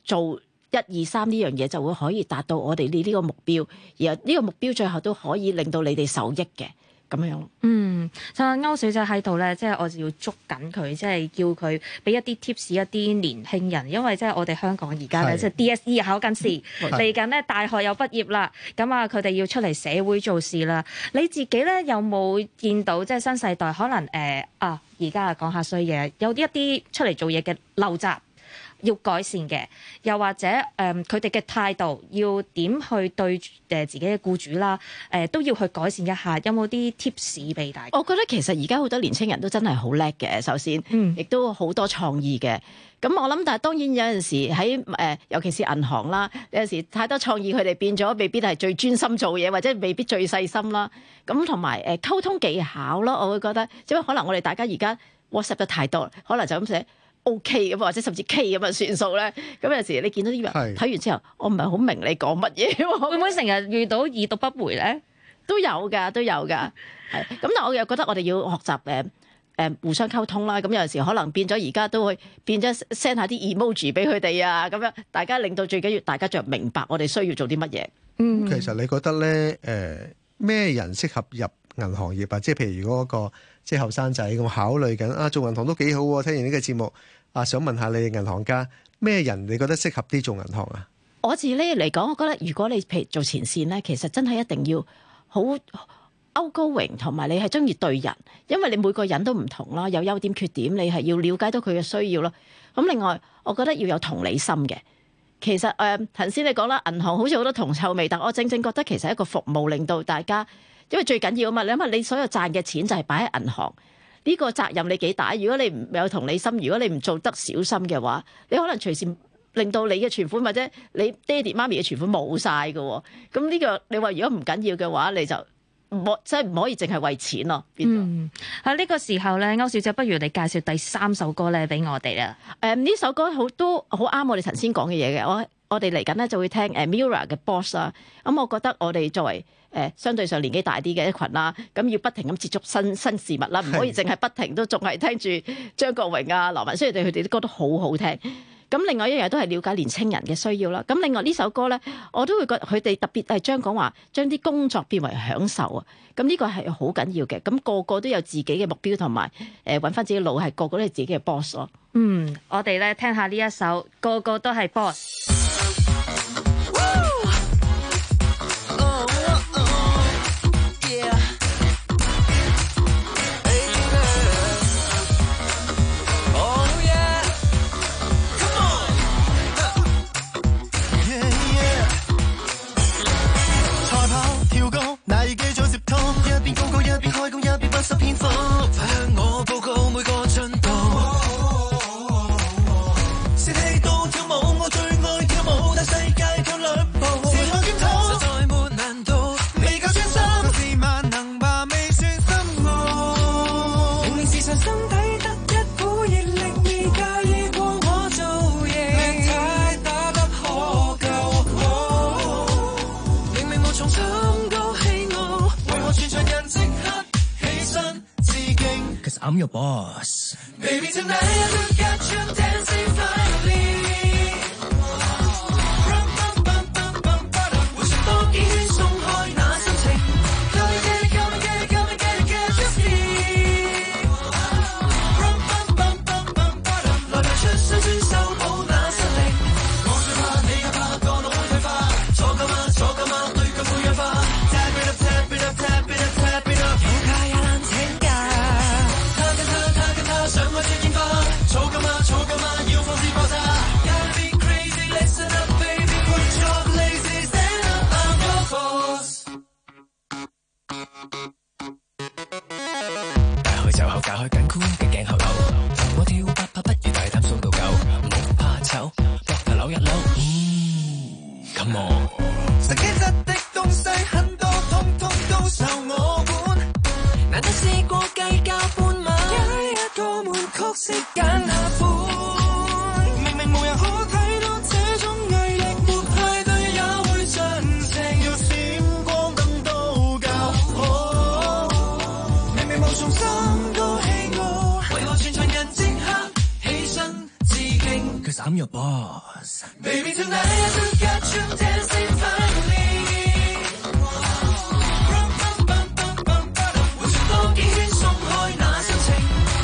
[SPEAKER 6] 1、2、3呢樣嘢就會可以達到我哋呢個目標，而呢個目標最後都可以令到你哋受益嘅。咁樣咯。
[SPEAKER 3] 就歐小姐喺度咧，即係我就要捉緊佢，即係叫佢俾一啲 tips 一啲年輕人，因為即係我哋香港而家咧，即係 DSE 考緊試，嚟緊咧大學又畢業啦，咁啊佢哋要出嚟社會做事啦。你自己咧有冇見到即係新世代可能而家講下衰嘢，有一啲出嚟做嘢嘅陋習要改善嘅，又或者佢哋嘅態度要點去對自己嘅僱主啦，都要去改善一下。有冇啲 tips 俾大家？
[SPEAKER 6] 我覺得其實而家好多年青人都真係好叻嘅，首先，亦都好多創意嘅。咁我諗，但係當然有陣時喺尤其是銀行啦，有陣時太多創意，佢哋變咗未必係最專心做嘢，或者未必最細心啦。咁同埋溝通技巧咯，我會覺得，因為可能我哋大家而家 WhatsApp 得太多，可能就咁寫。OK 咁或者甚至 K 咁啊算數咧，咁有時你見到啲人睇完之後，我唔係好明你講乜嘢，
[SPEAKER 3] 會唔會成日遇到已讀不回咧？
[SPEAKER 6] 都有㗎，係咁，但係我又覺得我哋要學習互相溝通啦。咁有陣時可能變咗而家都會變咗 send 下啲 emoji 俾佢哋啊，咁樣大家令到最緊要大家就明白我哋需要做啲乜嘢。
[SPEAKER 4] 其實你覺得咧咩人適合入銀行業啊？即係譬如如果個即係後生仔咁考慮緊做銀行都幾好喎。聽完呢個節目想問下你哋銀行家咩人你覺得適合啲做銀行啊？
[SPEAKER 6] 我自己嚟講，我覺得如果你譬如做前線咧，其實真係一定要好 outgoing，同埋你係中意對人，因為你每個人都唔同啦，有優點缺點，你係要了解到佢嘅需要咯。咁另外，我覺得要有同理心嘅。其實頭先你講啦，銀行好似好多銅臭味，但我正正覺得其實係一個服務，令到大家，因為最緊要啊嘛，你諗下你所有賺嘅錢就係擺喺銀行。呢個責任你幾大？如果你唔有同理心，如果你唔做得小心嘅話，你可能隨時令到你嘅存款或者你爹哋媽咪嘅存款冇晒㗎喎。咁呢個你話如果唔緊要嘅話，你就即係唔可以淨係為錢咯。
[SPEAKER 3] 喺呢個時候咧，歐小姐不如你介紹第3首歌咧俾我哋啦。
[SPEAKER 6] 呢首歌都好啱我哋頭先講嘅嘢嘅。我哋嚟緊咧就會聽Mirror 嘅 Boss 啦。咁我覺得我哋作為相對上年紀大啲嘅一群啦，咁要不停咁接觸新事物啦，唔可以淨係不停都仲係聽住張國榮啊、羅文，雖然佢哋啲歌都好好聽。咁另外一樣都係了解年青人嘅需要啦。咁另外呢首歌咧，我都會覺得佢哋特別係講話將啲工作變為享受啊。咁呢個係好緊要嘅。咁個個都有自己嘅目標同埋揾翻自己路，係個個都係自己嘅 boss 咯。
[SPEAKER 3] 我哋咧聽下呢一首，個個都係 boss。
[SPEAKER 14] I'm your boss.
[SPEAKER 15] Baby, tonight I look at you dancing finally. Rum bum bum bum bum bum. 回旋多幾圈鬆開那心情。Come and get it, come and get it, come and get it, get your feet. Rum bum bum bum bum bum. 來排出雙轉修補那實力。我最怕你又怕個腦會退化。坐夠嗎？坐夠嗎？對腳會氧化。Tap it up, tap it up, tap it up, tap it up。有假也難請假。想開出煙花，儲夠嗎？儲夠嗎？要放肆爆炸。Gotta be crazy, listen up, baby. Put your lazy stand up, I'm your boss。
[SPEAKER 14] 大開袖後，解開緊箍嘅頸後扭，同我跳8拍不如大膽數到9，唔怕醜，膊頭扭一扭。Come on。
[SPEAKER 15] 實機質的東西很多，通通都受我管。難得試過計較半晚。個門曲式揀下款，明明無人可睇到這種毅力，沒派對也會盡情，要閃光燈都夠好。明明無從心都氣我，為何全場人即刻起身致敬
[SPEAKER 14] ？Cause I'm your boss.
[SPEAKER 15] Baby tonight I look at you dancing finally。回旋多幾圈鬆開那心情。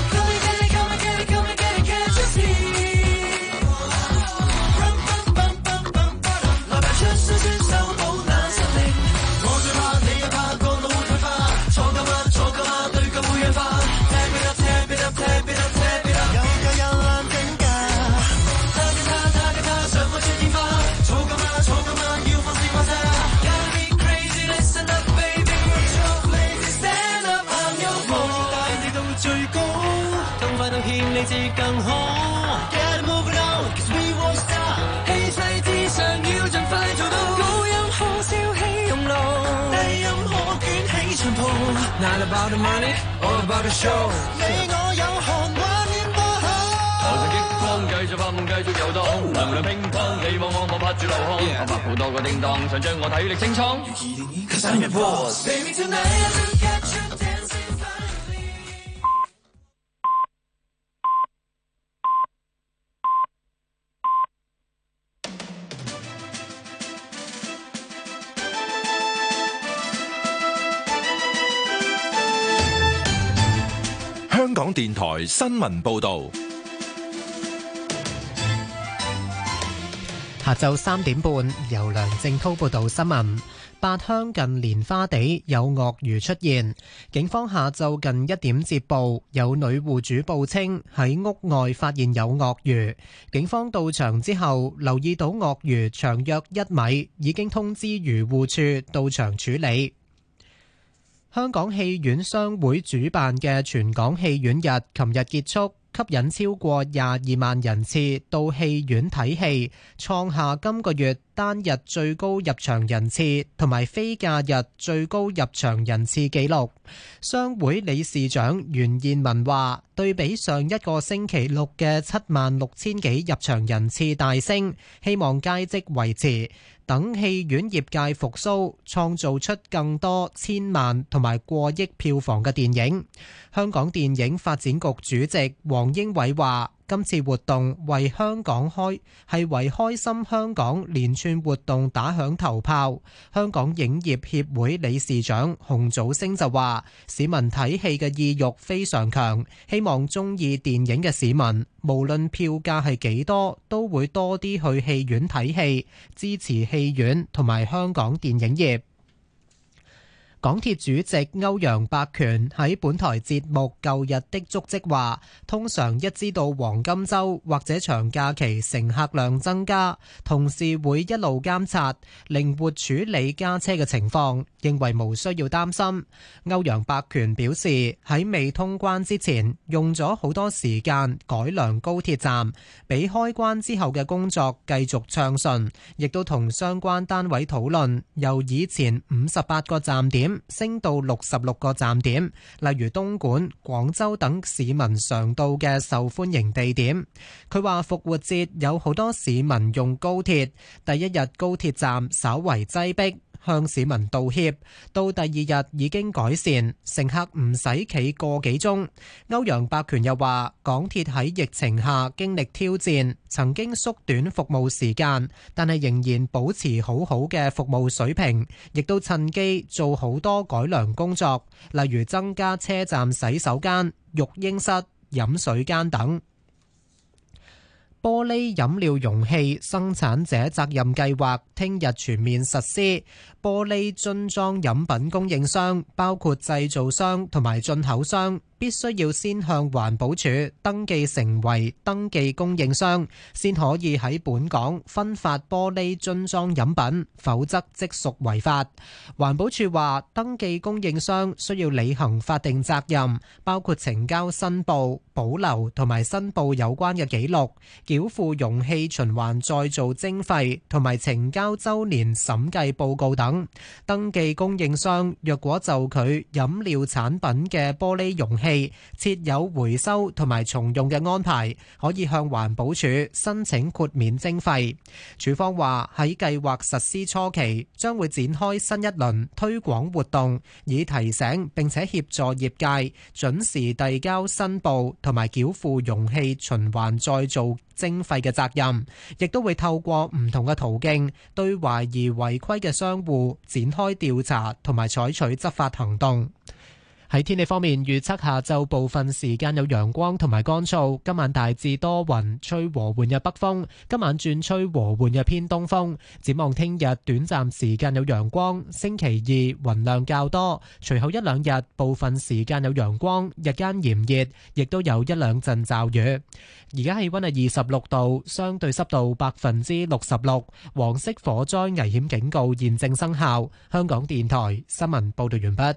[SPEAKER 15] 你至更好 ，Get moving on， 'cause we won't stop。氣勢至上要盡快做到，高音可燒起熔爐，低音可捲起長袍。Not about the money, all about the show。你我有寒畫面播好，
[SPEAKER 16] 我就激光繼續發夢，繼續遊蕩，能量乒乓，你望我拍住流汗，我拍好多個叮當，想將我體力清倉。
[SPEAKER 15] 'Cause I'm your boss。Baby tonight I look at you dancing。
[SPEAKER 17] 香港電台新聞報導，
[SPEAKER 8] 下晝3點半，由梁正滔報導新聞。八鄉近蓮花地有鱷魚出現，警方下晝近1點接報，有女戶主報稱喺屋外發現有鱷魚。警方到場之後，留意到鱷魚長約1米，已經通知漁護處到場處理。香港戲院商會主辦嘅全港戲院日琴日結束，吸引超過22萬人次到戲院睇戲，創下今個月單單日最高入場人次同埋非假日最高入場人次紀錄。商會理事長袁燕文話，對比上一個星期六嘅76,000幾入場人次大升，希望佳績維持，等戲院業界復甦，創造出更多千萬同埋過億票房嘅電影。香港電影發展局主席黃英偉話，今次活動為開心香港連串活動打響頭炮。香港影業協會理事長洪祖星就話，市民睇戲嘅意欲非常強，希望鍾意電影嘅市民，無論票價係幾多，都會多啲去戲院睇戲，支持戲院同埋香港電影業。港鐵主席歐陽伯權喺本台節目《舊日的足跡》話，通常一知道黃金週或者長假期乘客量增加，同事會一路監察，靈活處理加車嘅情況，認為無需要擔心。歐陽伯權表示，喺未通關之前，用咗好多時間改良高鐵站，俾開關之後嘅工作繼續暢順，亦都同相關單位討論，由以前58個站點升到66個站點，例如東莞、廣州等市民常到嘅受歡迎地點。佢話復活節有好多市民用高鐵，第一日高鐵站稍為擠迫，向市民道歉，到第二日已經改善，乘客唔使企個幾鐘。歐陽伯權又話，港鐵喺疫情下經歷挑戰，曾經縮短服務時間，但係仍然保持好好嘅服務水平，亦都趁機做好多改良工作，例如增加車站洗手間、育嬰室、飲水間等。玻璃飲料容器生產者責任計劃聽日全面實施。玻璃樽裝飲品供應商，包括製造商同埋進口商，必須要先向環保署登記成為登記供應商，先可以喺本港分發玻璃樽裝飲品，否則即屬違法。環保署話，登記供應商需要履行法定責任，包括呈交申報、保留同埋申報有關嘅記錄，繳付容器循環再造徵費同埋呈交週年審計報告等。登記供應商若果就佢飲料產品嘅玻璃容器設有回收同埋重用嘅安排，可以向環保署申請豁免徵費。署方話喺計劃實施初期，將會展開新一輪推廣活動，以提醒並且協助業界準時遞交申報同埋繳付容器循環再造徵費嘅責任，亦都會透過唔同嘅途徑對懷疑違規嘅商戶展開調查同埋採取執法行動。喺天氣方面，預測下晝部分時間有陽光同埋乾燥，今晚大致多雲，吹和緩嘅北風，今晚轉吹和緩嘅偏東風。展望聽日短暫時間有陽光，星期二雲量較多，隨後一兩日部分時間有陽光，日間炎熱，亦都有一兩陣驟雨。而家氣溫係26度，相對濕度66%，黃色火災危險警告現正生效。香港電台新聞報道完畢。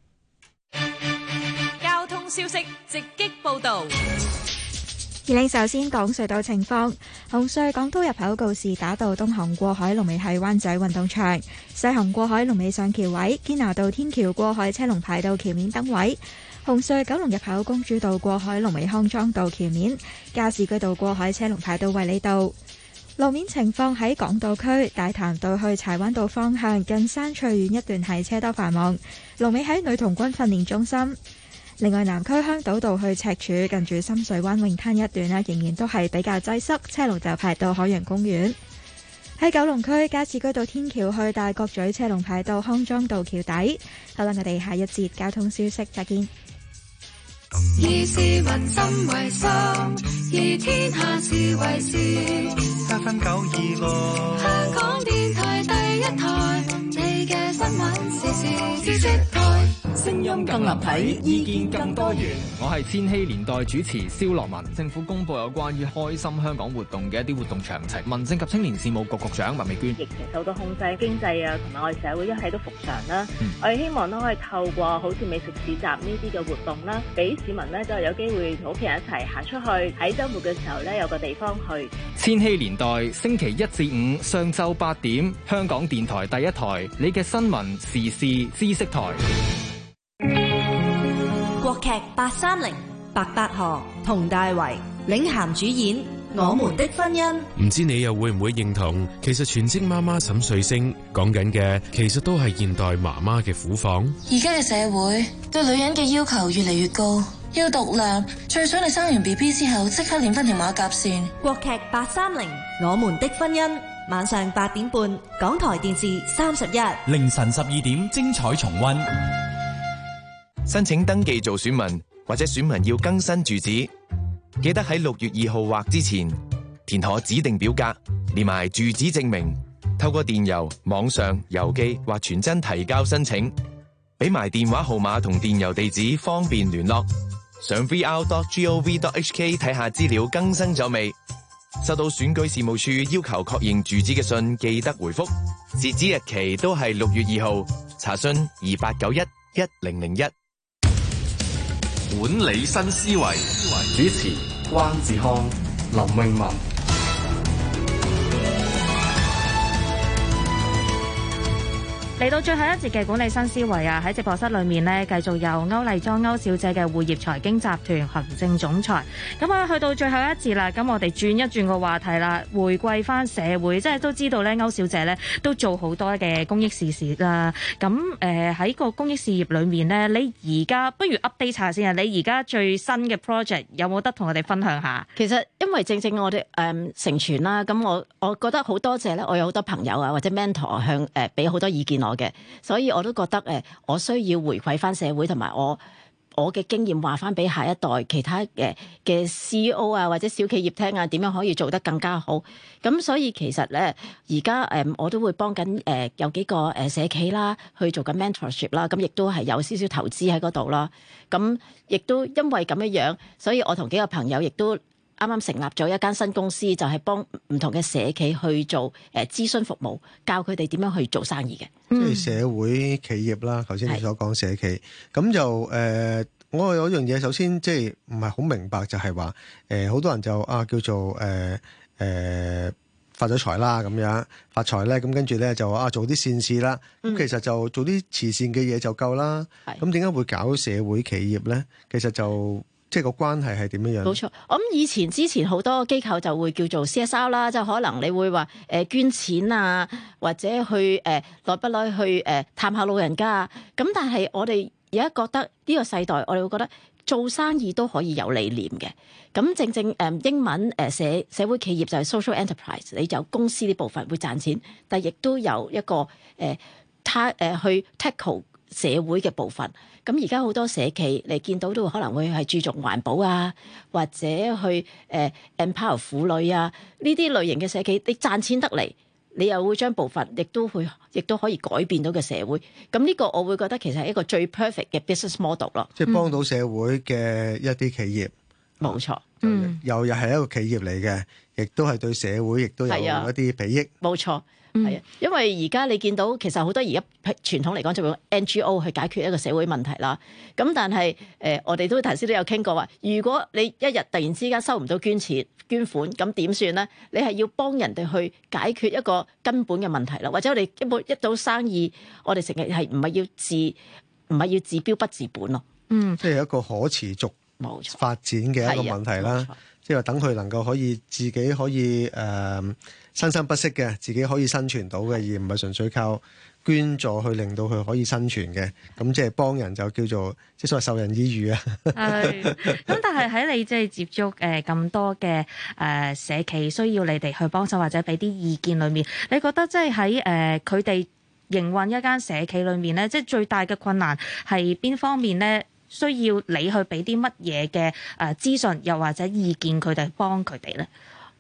[SPEAKER 9] 交通消息直擊報道。
[SPEAKER 10] 而你首先講隧道情況，紅隧港島入口告士打道東行過海龍尾喺灣仔運動場，西行過海龍尾上橋位，堅拿道天橋過海車龍排到橋面燈位。紅隧九龍入口公主道過海龍尾康莊道橋面，加士居道過海車龍排到衛理道。路面情況喺港島區大潭道去柴灣道方向近山翠苑一段係車多繁忙，龍尾喺女童軍訓練中心。另外南區香島道去赤柱近住深水灣泳灘一段呢，仍然都係比較擠塞，車龍就排到海洋公園。喺九龍區加士居道天橋去大角咀車龍排到康莊道橋底。好啦，我哋下一節交通消息再見。
[SPEAKER 15] 以市民心為心，以天下事為事。
[SPEAKER 11] 7分926，
[SPEAKER 15] 香港電台第一台，你嘅新聞時事知識台。
[SPEAKER 18] 聲音更立體，意見更多元。
[SPEAKER 19] 我係千禧年代主持蕭樂文。政府公布有關於開心香港活動嘅一啲活動詳情。民政及青年事務局局長麥美娟：
[SPEAKER 20] 疫情受到控制，經濟啊同埋我哋社會一切都復常啦。我哋希望都可以透過好似美食市集呢啲嘅活動啦，俾市民呢都係有機會同屋企人一齊行出去，喺週末嘅時候呢有個地方去。
[SPEAKER 19] 千禧年代星期1至5上晝8點，香港電台第一台，你嘅新聞時事知識台。
[SPEAKER 21] 國劇830，白百何、佟大為領銜主演《我們的婚姻》。
[SPEAKER 22] 唔知你又會唔會認同？其實全職媽媽沈瑞星講緊嘅，其實都係現代媽媽嘅苦況。
[SPEAKER 23] 而家嘅社會對女人嘅要求越嚟越高，要獨立，最想你生完 BB 之後即刻練翻條馬甲線。
[SPEAKER 21] 國劇830，《我們的婚姻》，晚上8點半，港台電視31，
[SPEAKER 24] 凌晨12點精彩重溫。
[SPEAKER 25] 申請登記做選民或者選民要更新住址，記得喺6月2號或之前填妥指定表格，連埋住址證明，透過電郵、網上、郵寄或傳真提交申請，俾埋電話號碼同電郵地址方便聯絡。上 vr.gov.hk 睇下資料更新咗未？收到選舉事務處要求確認住址嘅信，記得回覆。截止日期都係6月2號。查詢28911001。
[SPEAKER 7] 管理新思維，
[SPEAKER 2] 主持關志康、林詠雯。
[SPEAKER 3] 嚟到最後一節嘅管理新思維啊，喺直播室裏面呢，繼續有歐麗莊歐小姐嘅匯業財經集團行政總裁。咁啊，去到最後一節啦，咁我哋轉一轉個話題啦，回歸翻社會，即係都知道咧，歐小姐咧都做好多嘅公益事事啦。咁喺個公益事業裏面呢，你而家不如 update 下先啊！你而家最新嘅 project 有冇得同我哋分享下？
[SPEAKER 6] 其實因為正我哋成全啦，咁我覺得好多謝咧，我有好多朋友啊或者 mentor 向俾好多意見我嘅，所以我都覺得我需要回饋翻社會同埋我嘅經驗話翻俾下一代其他嘅 CEO 啊或者小企業聽啊，點樣可以做得更加好。咁所以其實咧而家我都會幫緊有幾個社企啦去做緊 mentorship 啦，咁亦都係有少少投資喺嗰度啦。咁亦都因為咁樣，所以我同幾個朋友亦都啱啱成立咗一間新公司，就係幫唔同嘅社企去做諮詢服務，教佢哋點樣去做生意嘅。
[SPEAKER 4] 即係社會企業啦，頭先你所講社企，咁就我有一樣嘢，首先即係唔係好明白，就係話好多人就叫做發咗財啦咁樣，發財咧，咁跟住咧就話做啲善事啦。咁其實就做啲慈善嘅嘢就夠啦。咁點解會搞社會企業咧？其實就即係個關係係點樣？
[SPEAKER 6] 冇錯，我諗之前好多機構就會叫做 CSR 啦，就可能你會話捐錢啊，或者去耐不耐去探下老人家啊。咁但係我哋而家覺得呢個世代，我哋會覺得做生意都可以有理念嘅。咁正英文社會企業就係 social enterprise， 你就有公司呢部分會賺錢，但係亦都有一個去 tackle 社會嘅部分。咁而家好多社企你見到都可能會係注重環保啊，或者去empower 婦女啊，呢啲類型嘅社企，你賺錢得嚟，你又會將部分亦都可以改變到嘅社會。咁呢個我會覺得其實係一個最 perfect 嘅 business model 咯。
[SPEAKER 4] 即係幫到社會嘅一啲企業。
[SPEAKER 6] 冇錯，
[SPEAKER 4] 又係一個企業嚟嘅，亦都係對社會亦都有一啲裨益。
[SPEAKER 6] 冇錯。係啊，因為而家你見到其實好多而家傳統嚟講就用 NGO 去解決一個社會問題啦。咁但係我哋都頭先都有傾過話，如果你一日突然之間收唔到捐款，咁點算咧？你係要幫人哋去解決一個根本嘅問題啦。或者我哋一到生意，我哋成日係唔係要治標不治本咯？
[SPEAKER 4] 即係一個可持續發展嘅一個問題啦。即係話等佢能夠可以自己可以生生不息嘅，自己可以生存到嘅，而唔係純粹靠捐助去令到佢可以生存嘅。咁即係幫人就叫做即係所謂授人以漁啊。係。
[SPEAKER 3] 咁但係喺你即係接觸咁多嘅社企需要你哋去幫手或者俾啲意見裏面，你覺得即係喺佢哋營運一間社企裏面咧，即係最大嘅困難係邊方面咧？需要你去俾啲乜嘢嘅資訊，又或者意見佢哋幫佢哋咧？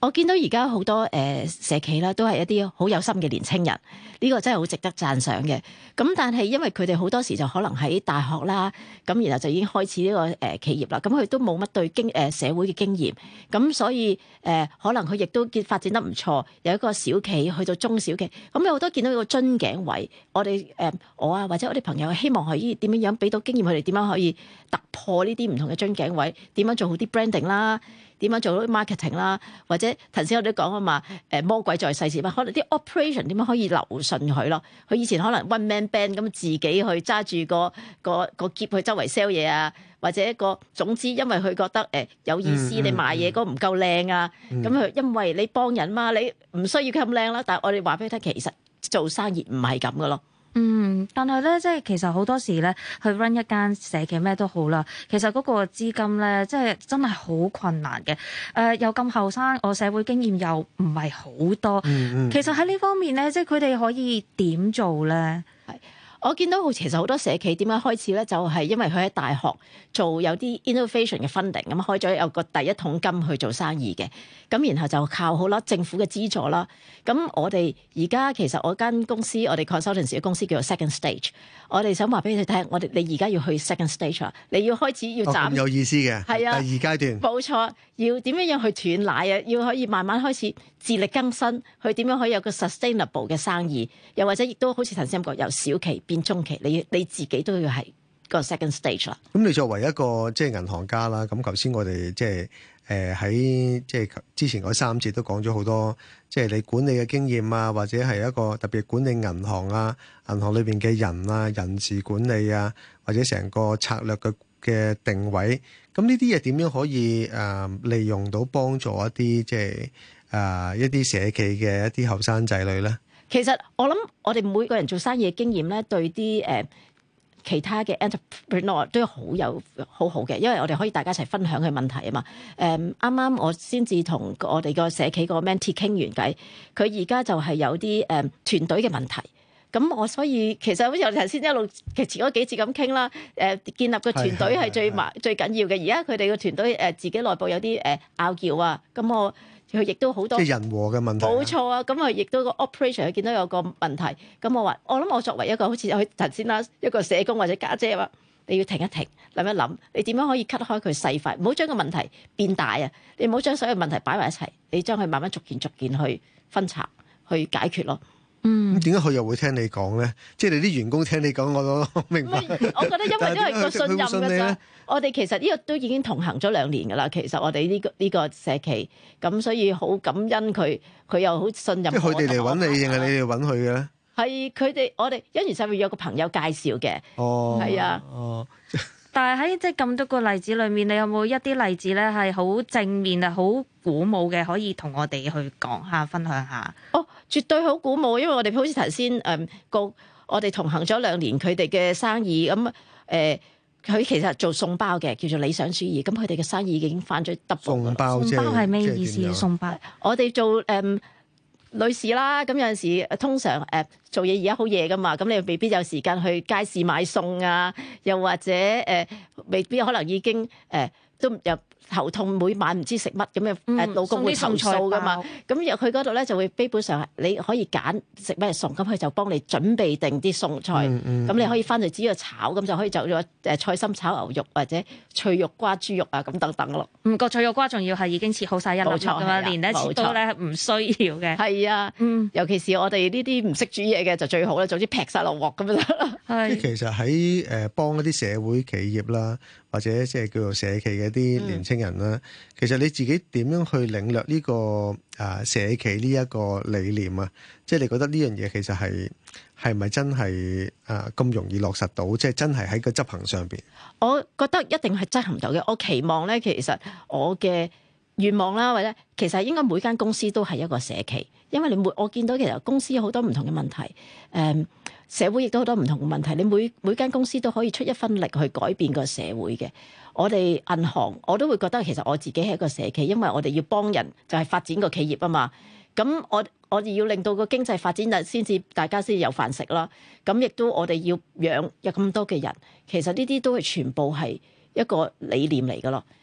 [SPEAKER 6] 我見到而家好多社企啦，都係一啲好有心嘅年青人，呢個真係好值得讚賞嘅。咁但係因為佢哋好多時就可能喺大學啦，咁然後就已經開始呢個企業啦，咁佢都冇乜對社會嘅經驗，咁所以可能佢亦都發展得唔錯，由一個小企去到中小企，咁有好多見到一個樽頸位，我哋我啊或者我哋朋友希望可以點樣俾到經驗佢哋點樣可以突破呢啲唔同嘅樽頸位，點樣做好啲 branding 啦。點樣做到 marketing 啦，或者頭先我哋講啊嘛，魔鬼在細節嘛，可能啲 operation 點樣可以流順佢咯？佢以前可能 one man band 咁自己去揸住個喼去周圍 sell 嘢啊，或者總之因為佢覺得有意思，你賣嘢嗰唔夠靚啊，咁佢因為你幫人嘛，你唔需要佢咁靚啦。但係我哋話俾佢聽，其實做生意唔係咁噶咯。
[SPEAKER 3] 但係咧，即係其實好多時咧，去 run 一間社企咩都好啦，其實嗰個資金咧，即係真係好困難嘅。又咁後生，我社會經驗又唔係好多。其實喺呢方面咧，即係佢哋可以點做咧？
[SPEAKER 6] 我見到其實好多社企點樣開始咧，就係因為佢喺大學做有啲 innovation 嘅 funding， 咁開咗有個第一桶金去做生意嘅，咁然後就靠好啦政府嘅資助啦。咁我哋而家其實我間公司，我哋 consultancy 嘅公司叫做 Second Stage， 我哋想話俾你聽，你而家要去 Second Stage 啊，你要開始要斬，
[SPEAKER 4] 有意思嘅，係啊，第二階段，
[SPEAKER 6] 冇錯，要點樣去斷奶啊，要可以慢慢開始自力更生，去點樣可以有個 sustainable 嘅生意，又或者亦都好似頭先咁講，由小企變中期，你自己都要係個 second stage 啦。
[SPEAKER 4] 咁你作為一個即係銀行家啦，咁頭先我哋即係喺即係之前嗰3節都講咗好多，即係你管理嘅經驗啊，或者係一個特別管理銀行啊，銀行裏邊嘅人啊，人事管理啊，或者成個策略嘅定位，咁呢啲嘢點樣可以利用到幫助一啲即係一啲社企嘅一啲後生仔女咧？
[SPEAKER 6] 其實我諗我哋每個人做生意嘅經驗咧，對啲其他嘅 entrepreneur 都好好嘅，因為我哋可以大家一齊分享嘅問題啊嘛。啱啱我先至同我哋個社企個 mentee 傾完偈，佢而家就係有啲團隊嘅問題。咁我所以其實好似我哋頭先一路前嗰幾節咁傾啦，建立個團隊係最緊要嘅。而家佢哋個團隊自己內部有啲拗撬啊，咁佢亦都好多
[SPEAKER 4] 即係人和嘅問題。
[SPEAKER 6] 冇錯啊，咁佢亦都個 operation 佢見到有個問題，咁我諗我作為一個好似佢頭先啦，一個社工或者家姐話，你要停一停，諗一諗，你點樣可以 cut 開佢細塊，唔好將個問題變大啊！你唔好將所有問題擺埋一齊，你將佢慢慢逐件去分拆去解決咯。
[SPEAKER 4] 咁點解佢又會聽你講咧？即係你啲員工聽你講，我都明白。
[SPEAKER 6] 我覺得因為個信任㗎咋。我哋其實呢個都已經同行咗2年㗎啦。其實我哋呢個社企，咁所以好感恩佢又好信任我。
[SPEAKER 4] 即係佢哋嚟揾你定係你哋揾佢嘅咧？
[SPEAKER 6] 係佢哋，我哋因緣際會有個朋友介紹嘅。係啊。
[SPEAKER 3] 但係喺即係咁多個例子裏面，你有冇一啲例子咧係好正面啊、好鼓舞嘅，可以同我哋去講下、分享下？
[SPEAKER 6] 絕對好鼓舞，因為我哋好似頭先我哋同行咗2年，佢哋嘅生意咁佢其實做送包嘅，叫做理想主義。咁佢哋嘅生意已經翻咗 double。
[SPEAKER 4] 送包
[SPEAKER 3] 係咩意思？送包
[SPEAKER 6] 我哋做女士啦，咁有陣時通常做嘢而家好夜噶嘛，咁你未必有時間去街市買餸啊，又或者未必可能已經都有頭痛，每晚唔知食乜咁嘅老公會投訴噶嘛。咁入去嗰度咧就會基本上你可以揀食咩餸，咁佢就幫你準備定啲餸菜，咁你可以翻去只要炒，咁就可以做咗菜心炒牛肉或者脆肉瓜豬肉啊咁等等咯。
[SPEAKER 3] 個脆肉瓜仲要係已經切好晒一粒粒噶嘛，連一切刀咧唔需要嘅。
[SPEAKER 6] 係啊，尤其是我哋呢啲唔識煮嘢嘅就最好啦，總之劈晒落鑊咁就得啦。
[SPEAKER 4] 即係其實喺幫一啲社會企業啦，或者即係叫做社企嘅啲年青人啦，其實你自己點樣去領略呢個社企呢一個理念啊？即係你覺得呢樣嘢其實係咪真係咁容易落實到？即係真係喺個執行上邊？我
[SPEAKER 6] 覺得一定係執行到嘅。我期望咧，其實我嘅願望啦，或者其實應該每間公司都係一個社企，因為我見到其實公司有好多唔同嘅問題，社會亦都好多唔同嘅問題，你每間公司都可以出一分力去改變個社會嘅。我哋銀行我都會覺得其實我自己係一個社企，因為我哋要幫人就係發展個企業啊嘛。咁我哋要令到個經濟發展大家先有飯食啦。咁亦都我哋要養有咁多嘅人，其實呢啲都係全部係一個理念嚟噶咯。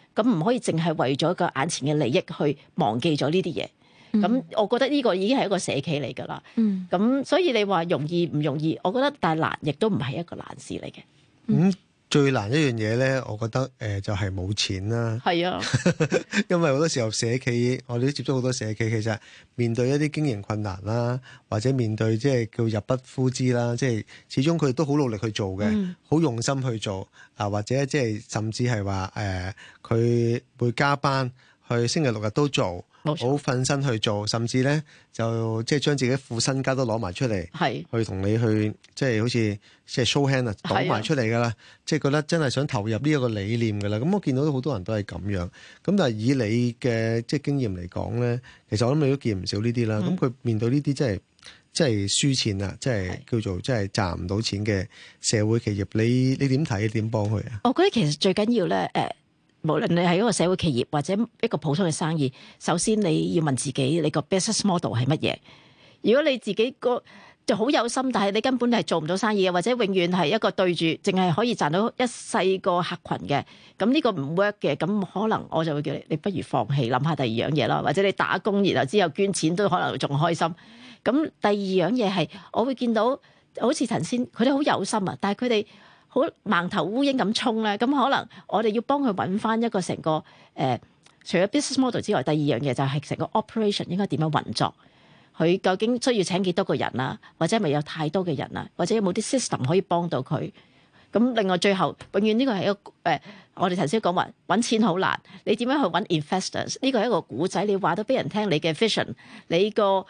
[SPEAKER 6] 咁唔可以淨係為咗個眼前嘅利益去忘記咗呢啲嘢。咁我覺得呢個已經係一個社企嚟㗎啦。咁所以你話容易唔容易？我覺得但係難，亦都唔係一個難事嚟嘅。
[SPEAKER 4] 最難一樣嘢咧，我覺得就係冇錢啦。
[SPEAKER 6] 係啊，
[SPEAKER 4] 因為好多時候社企，我哋都接觸好多社企，其實面對一啲經營困難啦，或者面對即係叫入不敷支啦，即係始終佢哋都好努力去做嘅，好用心去做啊，或者即係甚至係話佢會加班去星期六日都做。好瞓身去做，甚至咧就即係將自己副身家都攞埋出嚟，去同你去即係好似即係 show hand 啊，倒埋出嚟噶啦，即係覺得真係想投入呢一個理念噶啦。咁我見到好多人都係咁樣，咁但係以你嘅即係經驗嚟講咧，其實我諗你都見唔少呢啲啦。咁佢面對呢啲即係輸錢啊，即係叫做即係賺唔到錢嘅社會企業，你點睇？點幫佢啊？
[SPEAKER 6] 我覺得其實最緊要咧無論你係一個社會企業或者一個普通嘅生意，首先你要問自己你個 business model 係乜嘢。如果你自己就好有心，但係你根本係做唔到生意嘅，或者永遠係一個對住淨係可以賺到一細個客群嘅，咁呢個唔 work 嘅，咁可能我就會叫你不如放棄，諗下第二樣嘢啦，或者你打工然後之後捐錢都可能仲開心。咁第二樣嘢係我會見到好似頭先佢哋好有心啊，但係佢哋好盲頭烏蠅咁衝咧，咁可能我哋要幫佢揾翻一個成個除咗 business model 之外，第二樣嘢就係成個 operation 應該點樣運作，佢究竟需要請幾多個人啊，或者係咪有太多嘅人啊，或者有冇啲 system 可以幫到佢。咁另外最後永遠呢個係一個我哋頭先講話揾錢好難，你點樣去揾 investors？ 呢個係一個古仔，你話到俾人聽你嘅 vision， 你個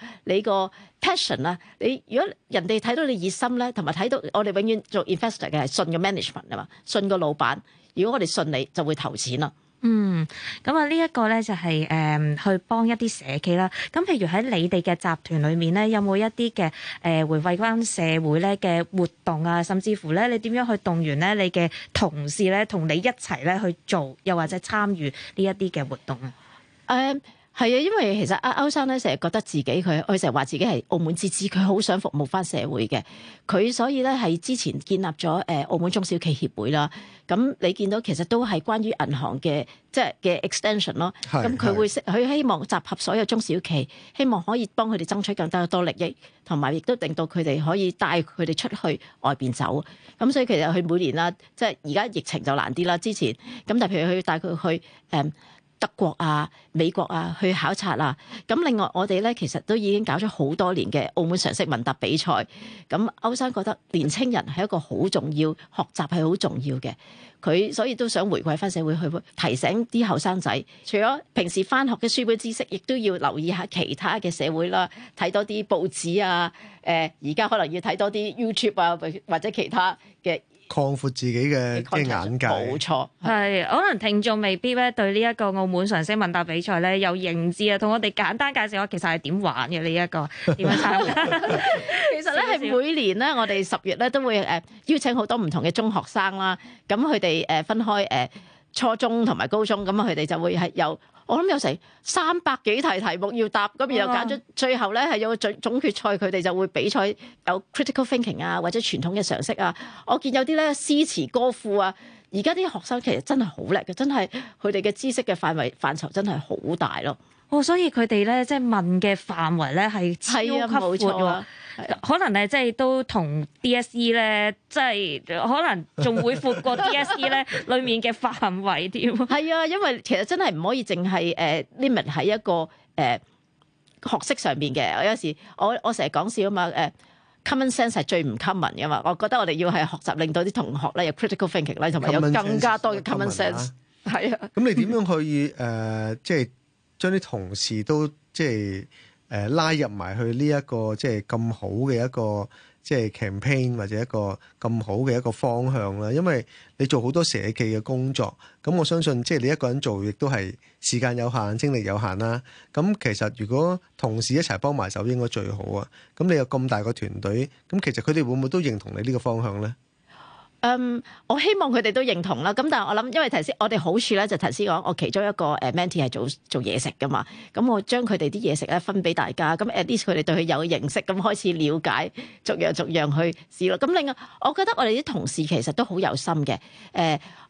[SPEAKER 6] passion 啊，你如果人哋睇到你熱心咧，同埋睇到我哋永遠做 investor 嘅係信個 management 啊嘛，信個老闆。如果我哋信你，就會投錢啦。
[SPEAKER 3] 咁啊呢一個咧就係去幫一啲社企啦。咁譬如喺你哋嘅集團裏面咧，有冇一啲嘅回饋翻社會咧嘅活動啊？甚至乎咧，你點樣去動員咧你嘅同事咧，同你一齊咧去做，又或者參與呢一啲嘅活動啊？
[SPEAKER 6] 係啊，因為其實歐生咧成日覺得自己佢成日話自己係澳門之子，佢好想服務翻社會嘅。佢所以咧係之前建立咗澳門中小企協會啦。咁你見到其實都係關於銀行嘅即係嘅 extension 咯。咁佢希望集合所有中小企，希望可以幫佢哋爭取更加多利益，同埋亦都令到佢哋可以帶佢哋出去外邊走。咁所以其實佢每年啦，即係而家疫情就難啲啦。之前咁，但係譬如佢帶佢去德國啊、美國啊去考察啊，咁另外我哋咧其實都已經搞咗好多年嘅澳門常識問答比賽。咁歐生覺得年青人係一個好重要，學習係好重要嘅，佢所以都想回饋翻社會，去提醒啲後生仔，除咗平時翻學嘅書本知識，亦都要留意下其他嘅社會啦，睇多啲報紙啊，而家可能要睇多啲 YouTube 啊，或者其他嘅。
[SPEAKER 4] 擴闊自己嘅眼界，
[SPEAKER 6] 冇錯，
[SPEAKER 3] 係可能聽眾未必咧對呢一個澳門常識問答比賽咧有認知啊，同我哋簡單介紹下其實係點玩嘅呢一個點樣參加？
[SPEAKER 6] 其實咧係每年咧，我哋10月咧都會邀請好多唔同嘅中學生啦，咁佢哋分開初中同埋高中，咁佢哋就會係有。我諗有成300幾題目要答，咁然後揀咗最後咧係有個總決賽，佢哋就會比賽有 critical thinking 啊，或者傳統嘅常識啊。我見有啲咧詩詞歌賦啊，而家啲學生其實真係好叻嘅，真係佢哋嘅知識嘅範疇真係好大咯。
[SPEAKER 3] 所以佢哋咧即係問嘅範圍咧係超級闊喎。可能咧，即係都同 DSE 咧，即係可能仲會闊過 DSE 咧，裡面嘅範圍添。
[SPEAKER 6] 係啊，因為其實真係唔可以淨係limit 喺一個學識上面嘅。我有時我成日講笑啊嘛，common sense 係最唔 common 嘅嘛。我覺得我哋要係學習，令到啲同學咧有 critical thinking 咧，同埋有更加多嘅 common sense。係啊。咁
[SPEAKER 4] 你點樣去即係將啲同事都即係？拉入埋去呢一個即係咁好嘅一個即係 campaign 或者一個咁好嘅一個方向啦，因為你做好多社企嘅工作，咁我相信即係你一個人做亦都係時間有限、精力有限啦。咁其實如果同事一齊幫埋手，應該最好啊。咁你有咁大個團隊，咁其實佢哋會唔會都認同你呢個方向咧？
[SPEAKER 6] 我希望佢哋都認同啦。咁但係我諗，因為頭先我哋好處咧，就頭先講，我其中一個mentee 係做嘢食噶嘛。咁我將佢哋啲嘢食咧分俾大家，咁 at least 佢哋對佢有認識，咁開始了解，逐樣去試咯。咁另外，我覺得我哋啲同事其實都好有心嘅。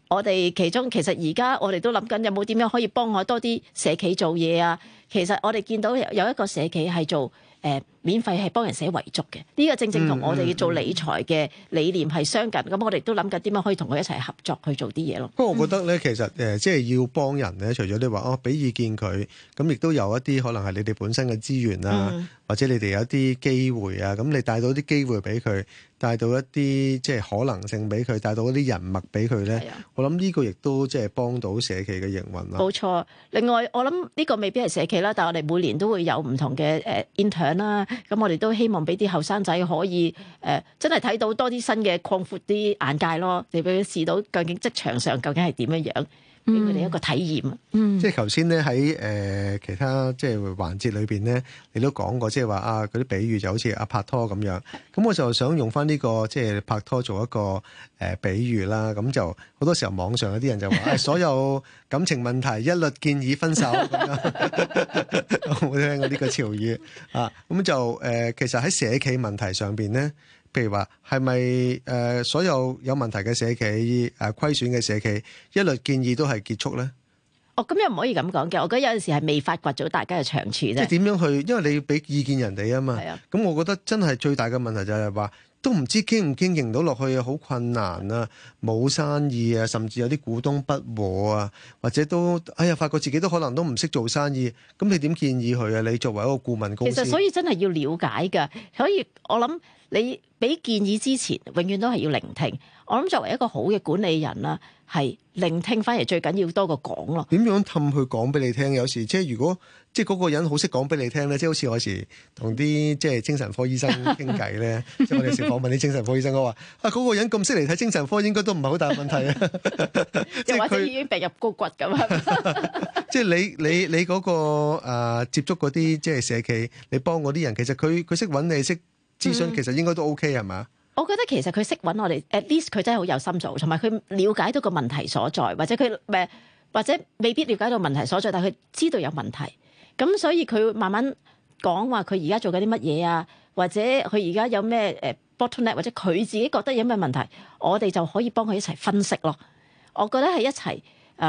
[SPEAKER 6] 我哋其中其實而家我哋都諗緊有冇點樣可以幫我多啲社企做嘢啊？其實我哋見到有一個社企係做免費係幫人寫遺囑嘅，呢個正正同我哋做理財嘅理念係相近。咁我哋都諗緊點樣可以同佢一齊合作去做啲嘢咯。
[SPEAKER 4] 不過我覺得咧，其實即係要幫人咧，除咗你話俾意見佢，咁亦都有一啲可能係你哋本身嘅資源啊，或者你哋有一啲機會啊，咁你帶到啲機會俾佢，帶到一啲即係可能性俾佢，帶到一啲人脈俾佢咧。我諗呢個亦都即係幫到社企嘅營運啦。
[SPEAKER 6] 冇錯。另外我諗呢個未必係社企啦，但係我哋每年都會有唔同嘅intern 啦。咁我哋都希望俾啲後生仔可以真係睇到多啲新嘅，擴闊啲眼界咯，你俾佢試到究竟職場上究竟係點樣樣，俾佢哋一個體驗。
[SPEAKER 4] 即係頭先咧喺其他即係環節裏邊咧，你都講過即係話嗰啲比喻就好似拍拖咁樣。咁我就想用翻呢個即係拍拖做一個比喻啦。咁就好多時候網上有啲人就話所有感情問題一律建議分手咁樣。我冇聽過呢個潮語啊。咁就其實喺社企問題上邊咧，譬如話係咪所有有問題嘅社企虧損嘅社企一律建議都係結束咧？
[SPEAKER 6] 咁又唔可以咁講嘅。我覺得有陣時係未發掘到大家嘅長處啫。即係
[SPEAKER 4] 點樣去？因為你要俾意見人哋啊嘛。咁我覺得真係最大嘅問題就係話，都唔知經唔經營到落去啊，好困難啊，冇生意啊，甚至有啲股東不和啊，或者都發覺自己都可能都唔識做生意。咁你點建議佢啊？你作為一個顧問公司，
[SPEAKER 6] 其實所以真係要了解㗎。所以我諗你俾建議之前，永遠都係要聆聽。我諗作為一個好嘅管理人啦，係聆聽翻嚟最緊要多過講咯。
[SPEAKER 4] 點樣氹佢講俾你聽？有時即係如果即係嗰個人好識講俾你聽咧，即係好似我有時同啲即係精神科醫生傾偈咧，即係我哋有時訪問啲精神科醫生，我話嗰個人咁識嚟睇精神科，應該都唔係好大問題啊。
[SPEAKER 6] 又或者已經病入膏骨咁。
[SPEAKER 4] 即係你嗰個接觸嗰啲即係社企，你幫嗰啲人，其實佢識揾你識諮詢，其實應該都 OK 係嘛？
[SPEAKER 6] 我覺得其實佢識揾我哋 ，at least 佢真係好有心做，同埋佢了解到個問題所在，或者佢或者未必了解到問題所在，但係佢知道有問題。咁所以佢慢慢講話佢而家做緊啲乜嘢啊，或者佢而家有咩bottleneck，或者佢自己覺得有咩問題，我哋就可以幫佢一齊分析咯。我覺得係一齊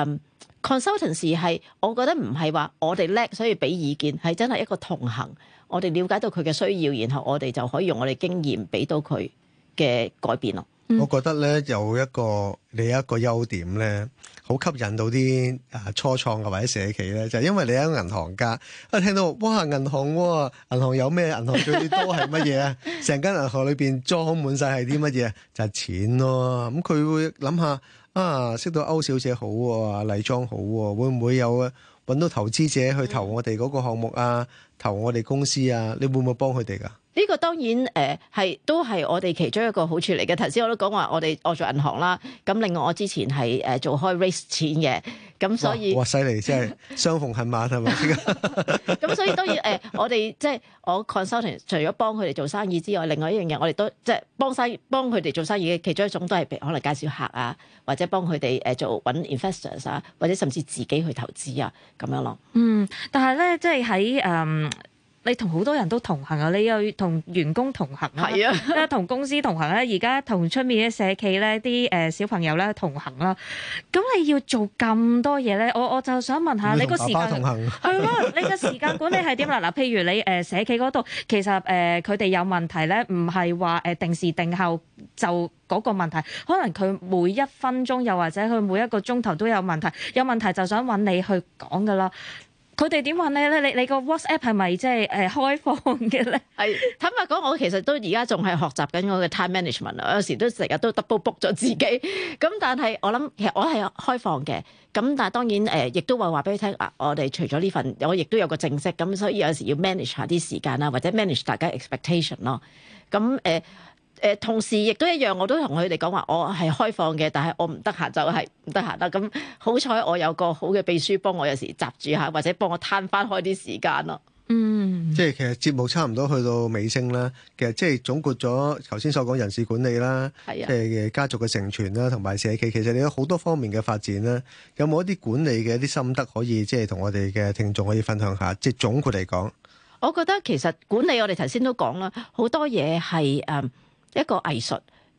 [SPEAKER 6] consultancy 係，我覺得唔係話我哋叻所以俾意見，係真係一個同行。我哋了解到佢嘅需要，然後我哋就可以用我哋經驗俾到佢嘅改變咯。
[SPEAKER 4] 我覺得咧有一個優點咧，好吸引到啲初創嘅或者社企咧，就係因為你係一個銀行家，聽到哇銀行喎，銀行有咩？銀行最多係乜嘢啊？成間銀行裏邊裝滿晒係啲乜嘢？就係錢咯。咁佢會諗下識到歐小姐好喎，麗莊好喎，會唔會有揾到投資者去投我哋嗰個項目啊？投我哋公司啊？你會唔會幫佢哋㗎？
[SPEAKER 6] 呢個當然都係我哋其中一個好處嚟嘅。頭先我都講話我做銀行啦，咁另外我之前係做開 raise 錢嘅，咁所以
[SPEAKER 4] 哇犀利，真係相逢恨晚係咪？
[SPEAKER 6] 咁所以當然我哋即係我 consulting 除咗幫佢哋做生意之外，另外一樣嘢我哋都即係幫佢哋做生意嘅其中一種都係可能介紹客啊，或者幫佢哋做揾 investors 啊，或者甚至自己去投資啊咁樣咯。
[SPEAKER 3] 但係咧即係喺你同好多人都同行啊！你又同員工同行啊，
[SPEAKER 6] 係啊，
[SPEAKER 3] 同公司同行啦，而家同出面嘅社企咧，啲小朋友咧同行啦。咁你要做咁多嘢咧，我就想問下你個時間係咯，你個時間管理係點啦？嗱，譬如你社企嗰度，其實佢哋有問題咧，唔係話定時定候就嗰個問題，可能佢每一分鐘又或者佢每一個鐘頭都有問題，有問題就想揾你去講噶啦。佢哋點問你咧？你個 WhatsApp 係咪即係開放嘅咧？係
[SPEAKER 6] 坦白講，我其實都而家仲係學習緊我嘅 time management 啊！有時都成日都 double book 咗自己。咁但係我諗其實我係開放嘅。咁但係當然亦都話俾佢聽啊！我哋除咗呢份，我亦都有個正式。咁所以有時要 manage 下啲時間啦，或者 manage 大家 expectation 咯。咁同時亦都一樣，我都同佢哋講話，我係開放嘅，但係我唔得閒就係唔得閒啦。咁好彩我有個好嘅秘書幫我有時閘住下，或者幫我攤翻開啲時間咯。
[SPEAKER 4] 即係其實節目差唔多去到尾聲啦。其實即係總括咗頭先所講人事管理啦，即係家族嘅承傳啦，同埋社企，其實你有好多方面嘅發展啦。有冇一啲管理嘅一啲心得可以即係同我哋嘅聽眾可以分享下？即係總括嚟講，
[SPEAKER 6] 我覺得其實管理我哋頭先都講啦，好多嘢係一個藝術，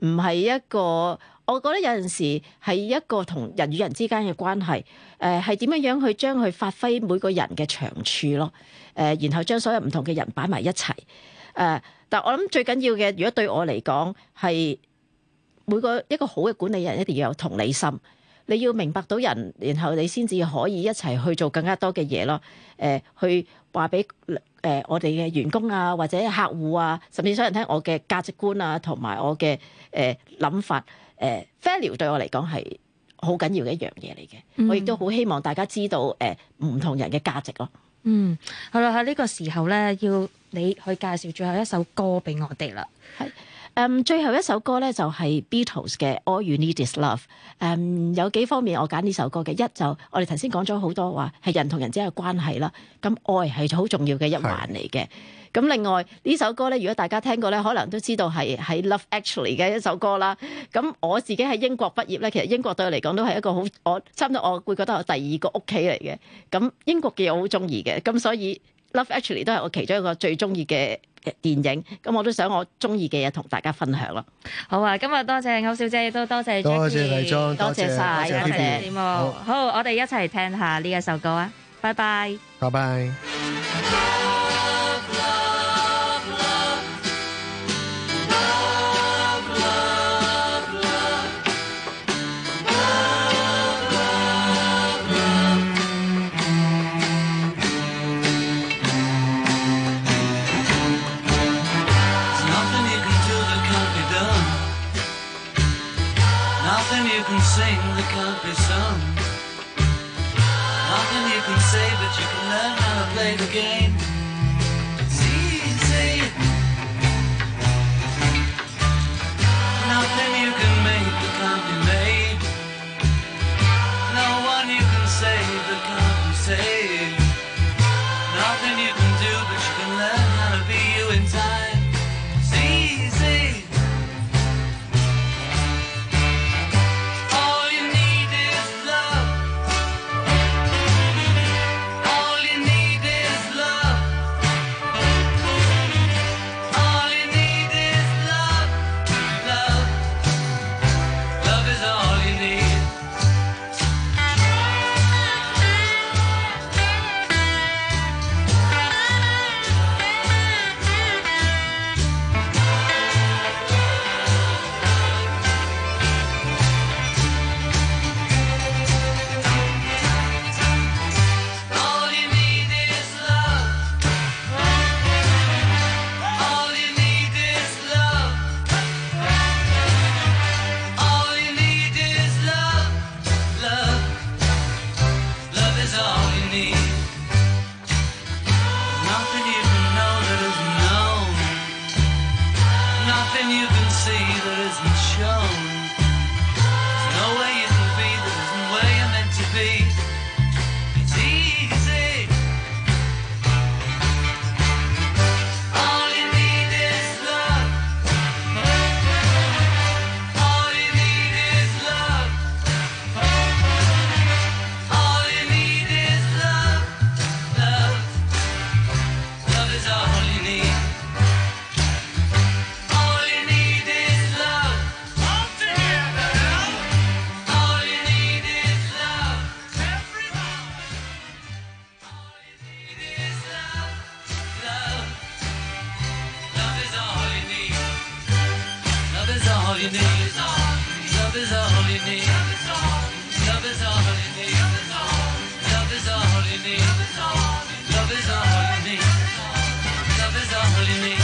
[SPEAKER 6] 唔係一個，我覺得有陣時係一個同人與人之間嘅關係，係點樣去將佢發揮每個人嘅長處咯，然後將所有唔同嘅人擺埋一齊，但我諗最緊要嘅，如果對我嚟講係一個好嘅管理人一定要有同理心。你要明白到人，然後你先至可以一齊去做更加多嘅嘢咯。去話俾我哋嘅員工啊，或者客戶啊，甚至想人聽我嘅價值觀啊，同埋我嘅諗法。value 對我嚟講係好緊要嘅一樣嘢嚟嘅。我亦都好希望大家知道唔同人嘅價值咯。
[SPEAKER 3] 好啦，喺呢個時候咧，要你去介紹最後一首歌俾我哋啦。
[SPEAKER 6] 係。最後一首歌咧就係 Beatles 嘅 All You Need Is Love。有幾方面我揀呢首歌嘅，一就我哋頭先講咗好多話係人同人之間嘅關係啦，咁愛係好重要嘅一環嚟嘅。咁另外呢首歌咧，如果大家聽過咧，可能都知道係喺 Love Actually 嘅一首歌啦。咁我自己喺英國畢業咧，其實英國對我嚟講都係一個好，我差唔多我會覺得我第二個屋企嚟嘅。咁英國嘅我好中意嘅，咁所以 Love Actually 都係我其中一個最中意嘅電影，咁我都想我中意嘅嘢同大家分享咯。
[SPEAKER 3] 好啊，今日多謝歐小姐，亦都多謝 Jackie，
[SPEAKER 4] 多謝黎莊，
[SPEAKER 6] 多謝晒，多謝
[SPEAKER 3] 節目。好，我哋一齊聽下呢一首歌啊！拜拜，
[SPEAKER 4] 拜拜。
[SPEAKER 15] You can sing that can't be sung. Nothing you can say, but you can learn how to play the game. It's easy. Nothing you can make that can't be made. No one you can save that can't be saved. Nothing you can do, but you can learn how to be you in time. It's easy. all you need. Love is all you need. Love is all you need. Love is all you need. Love is all you need. Love is all you need.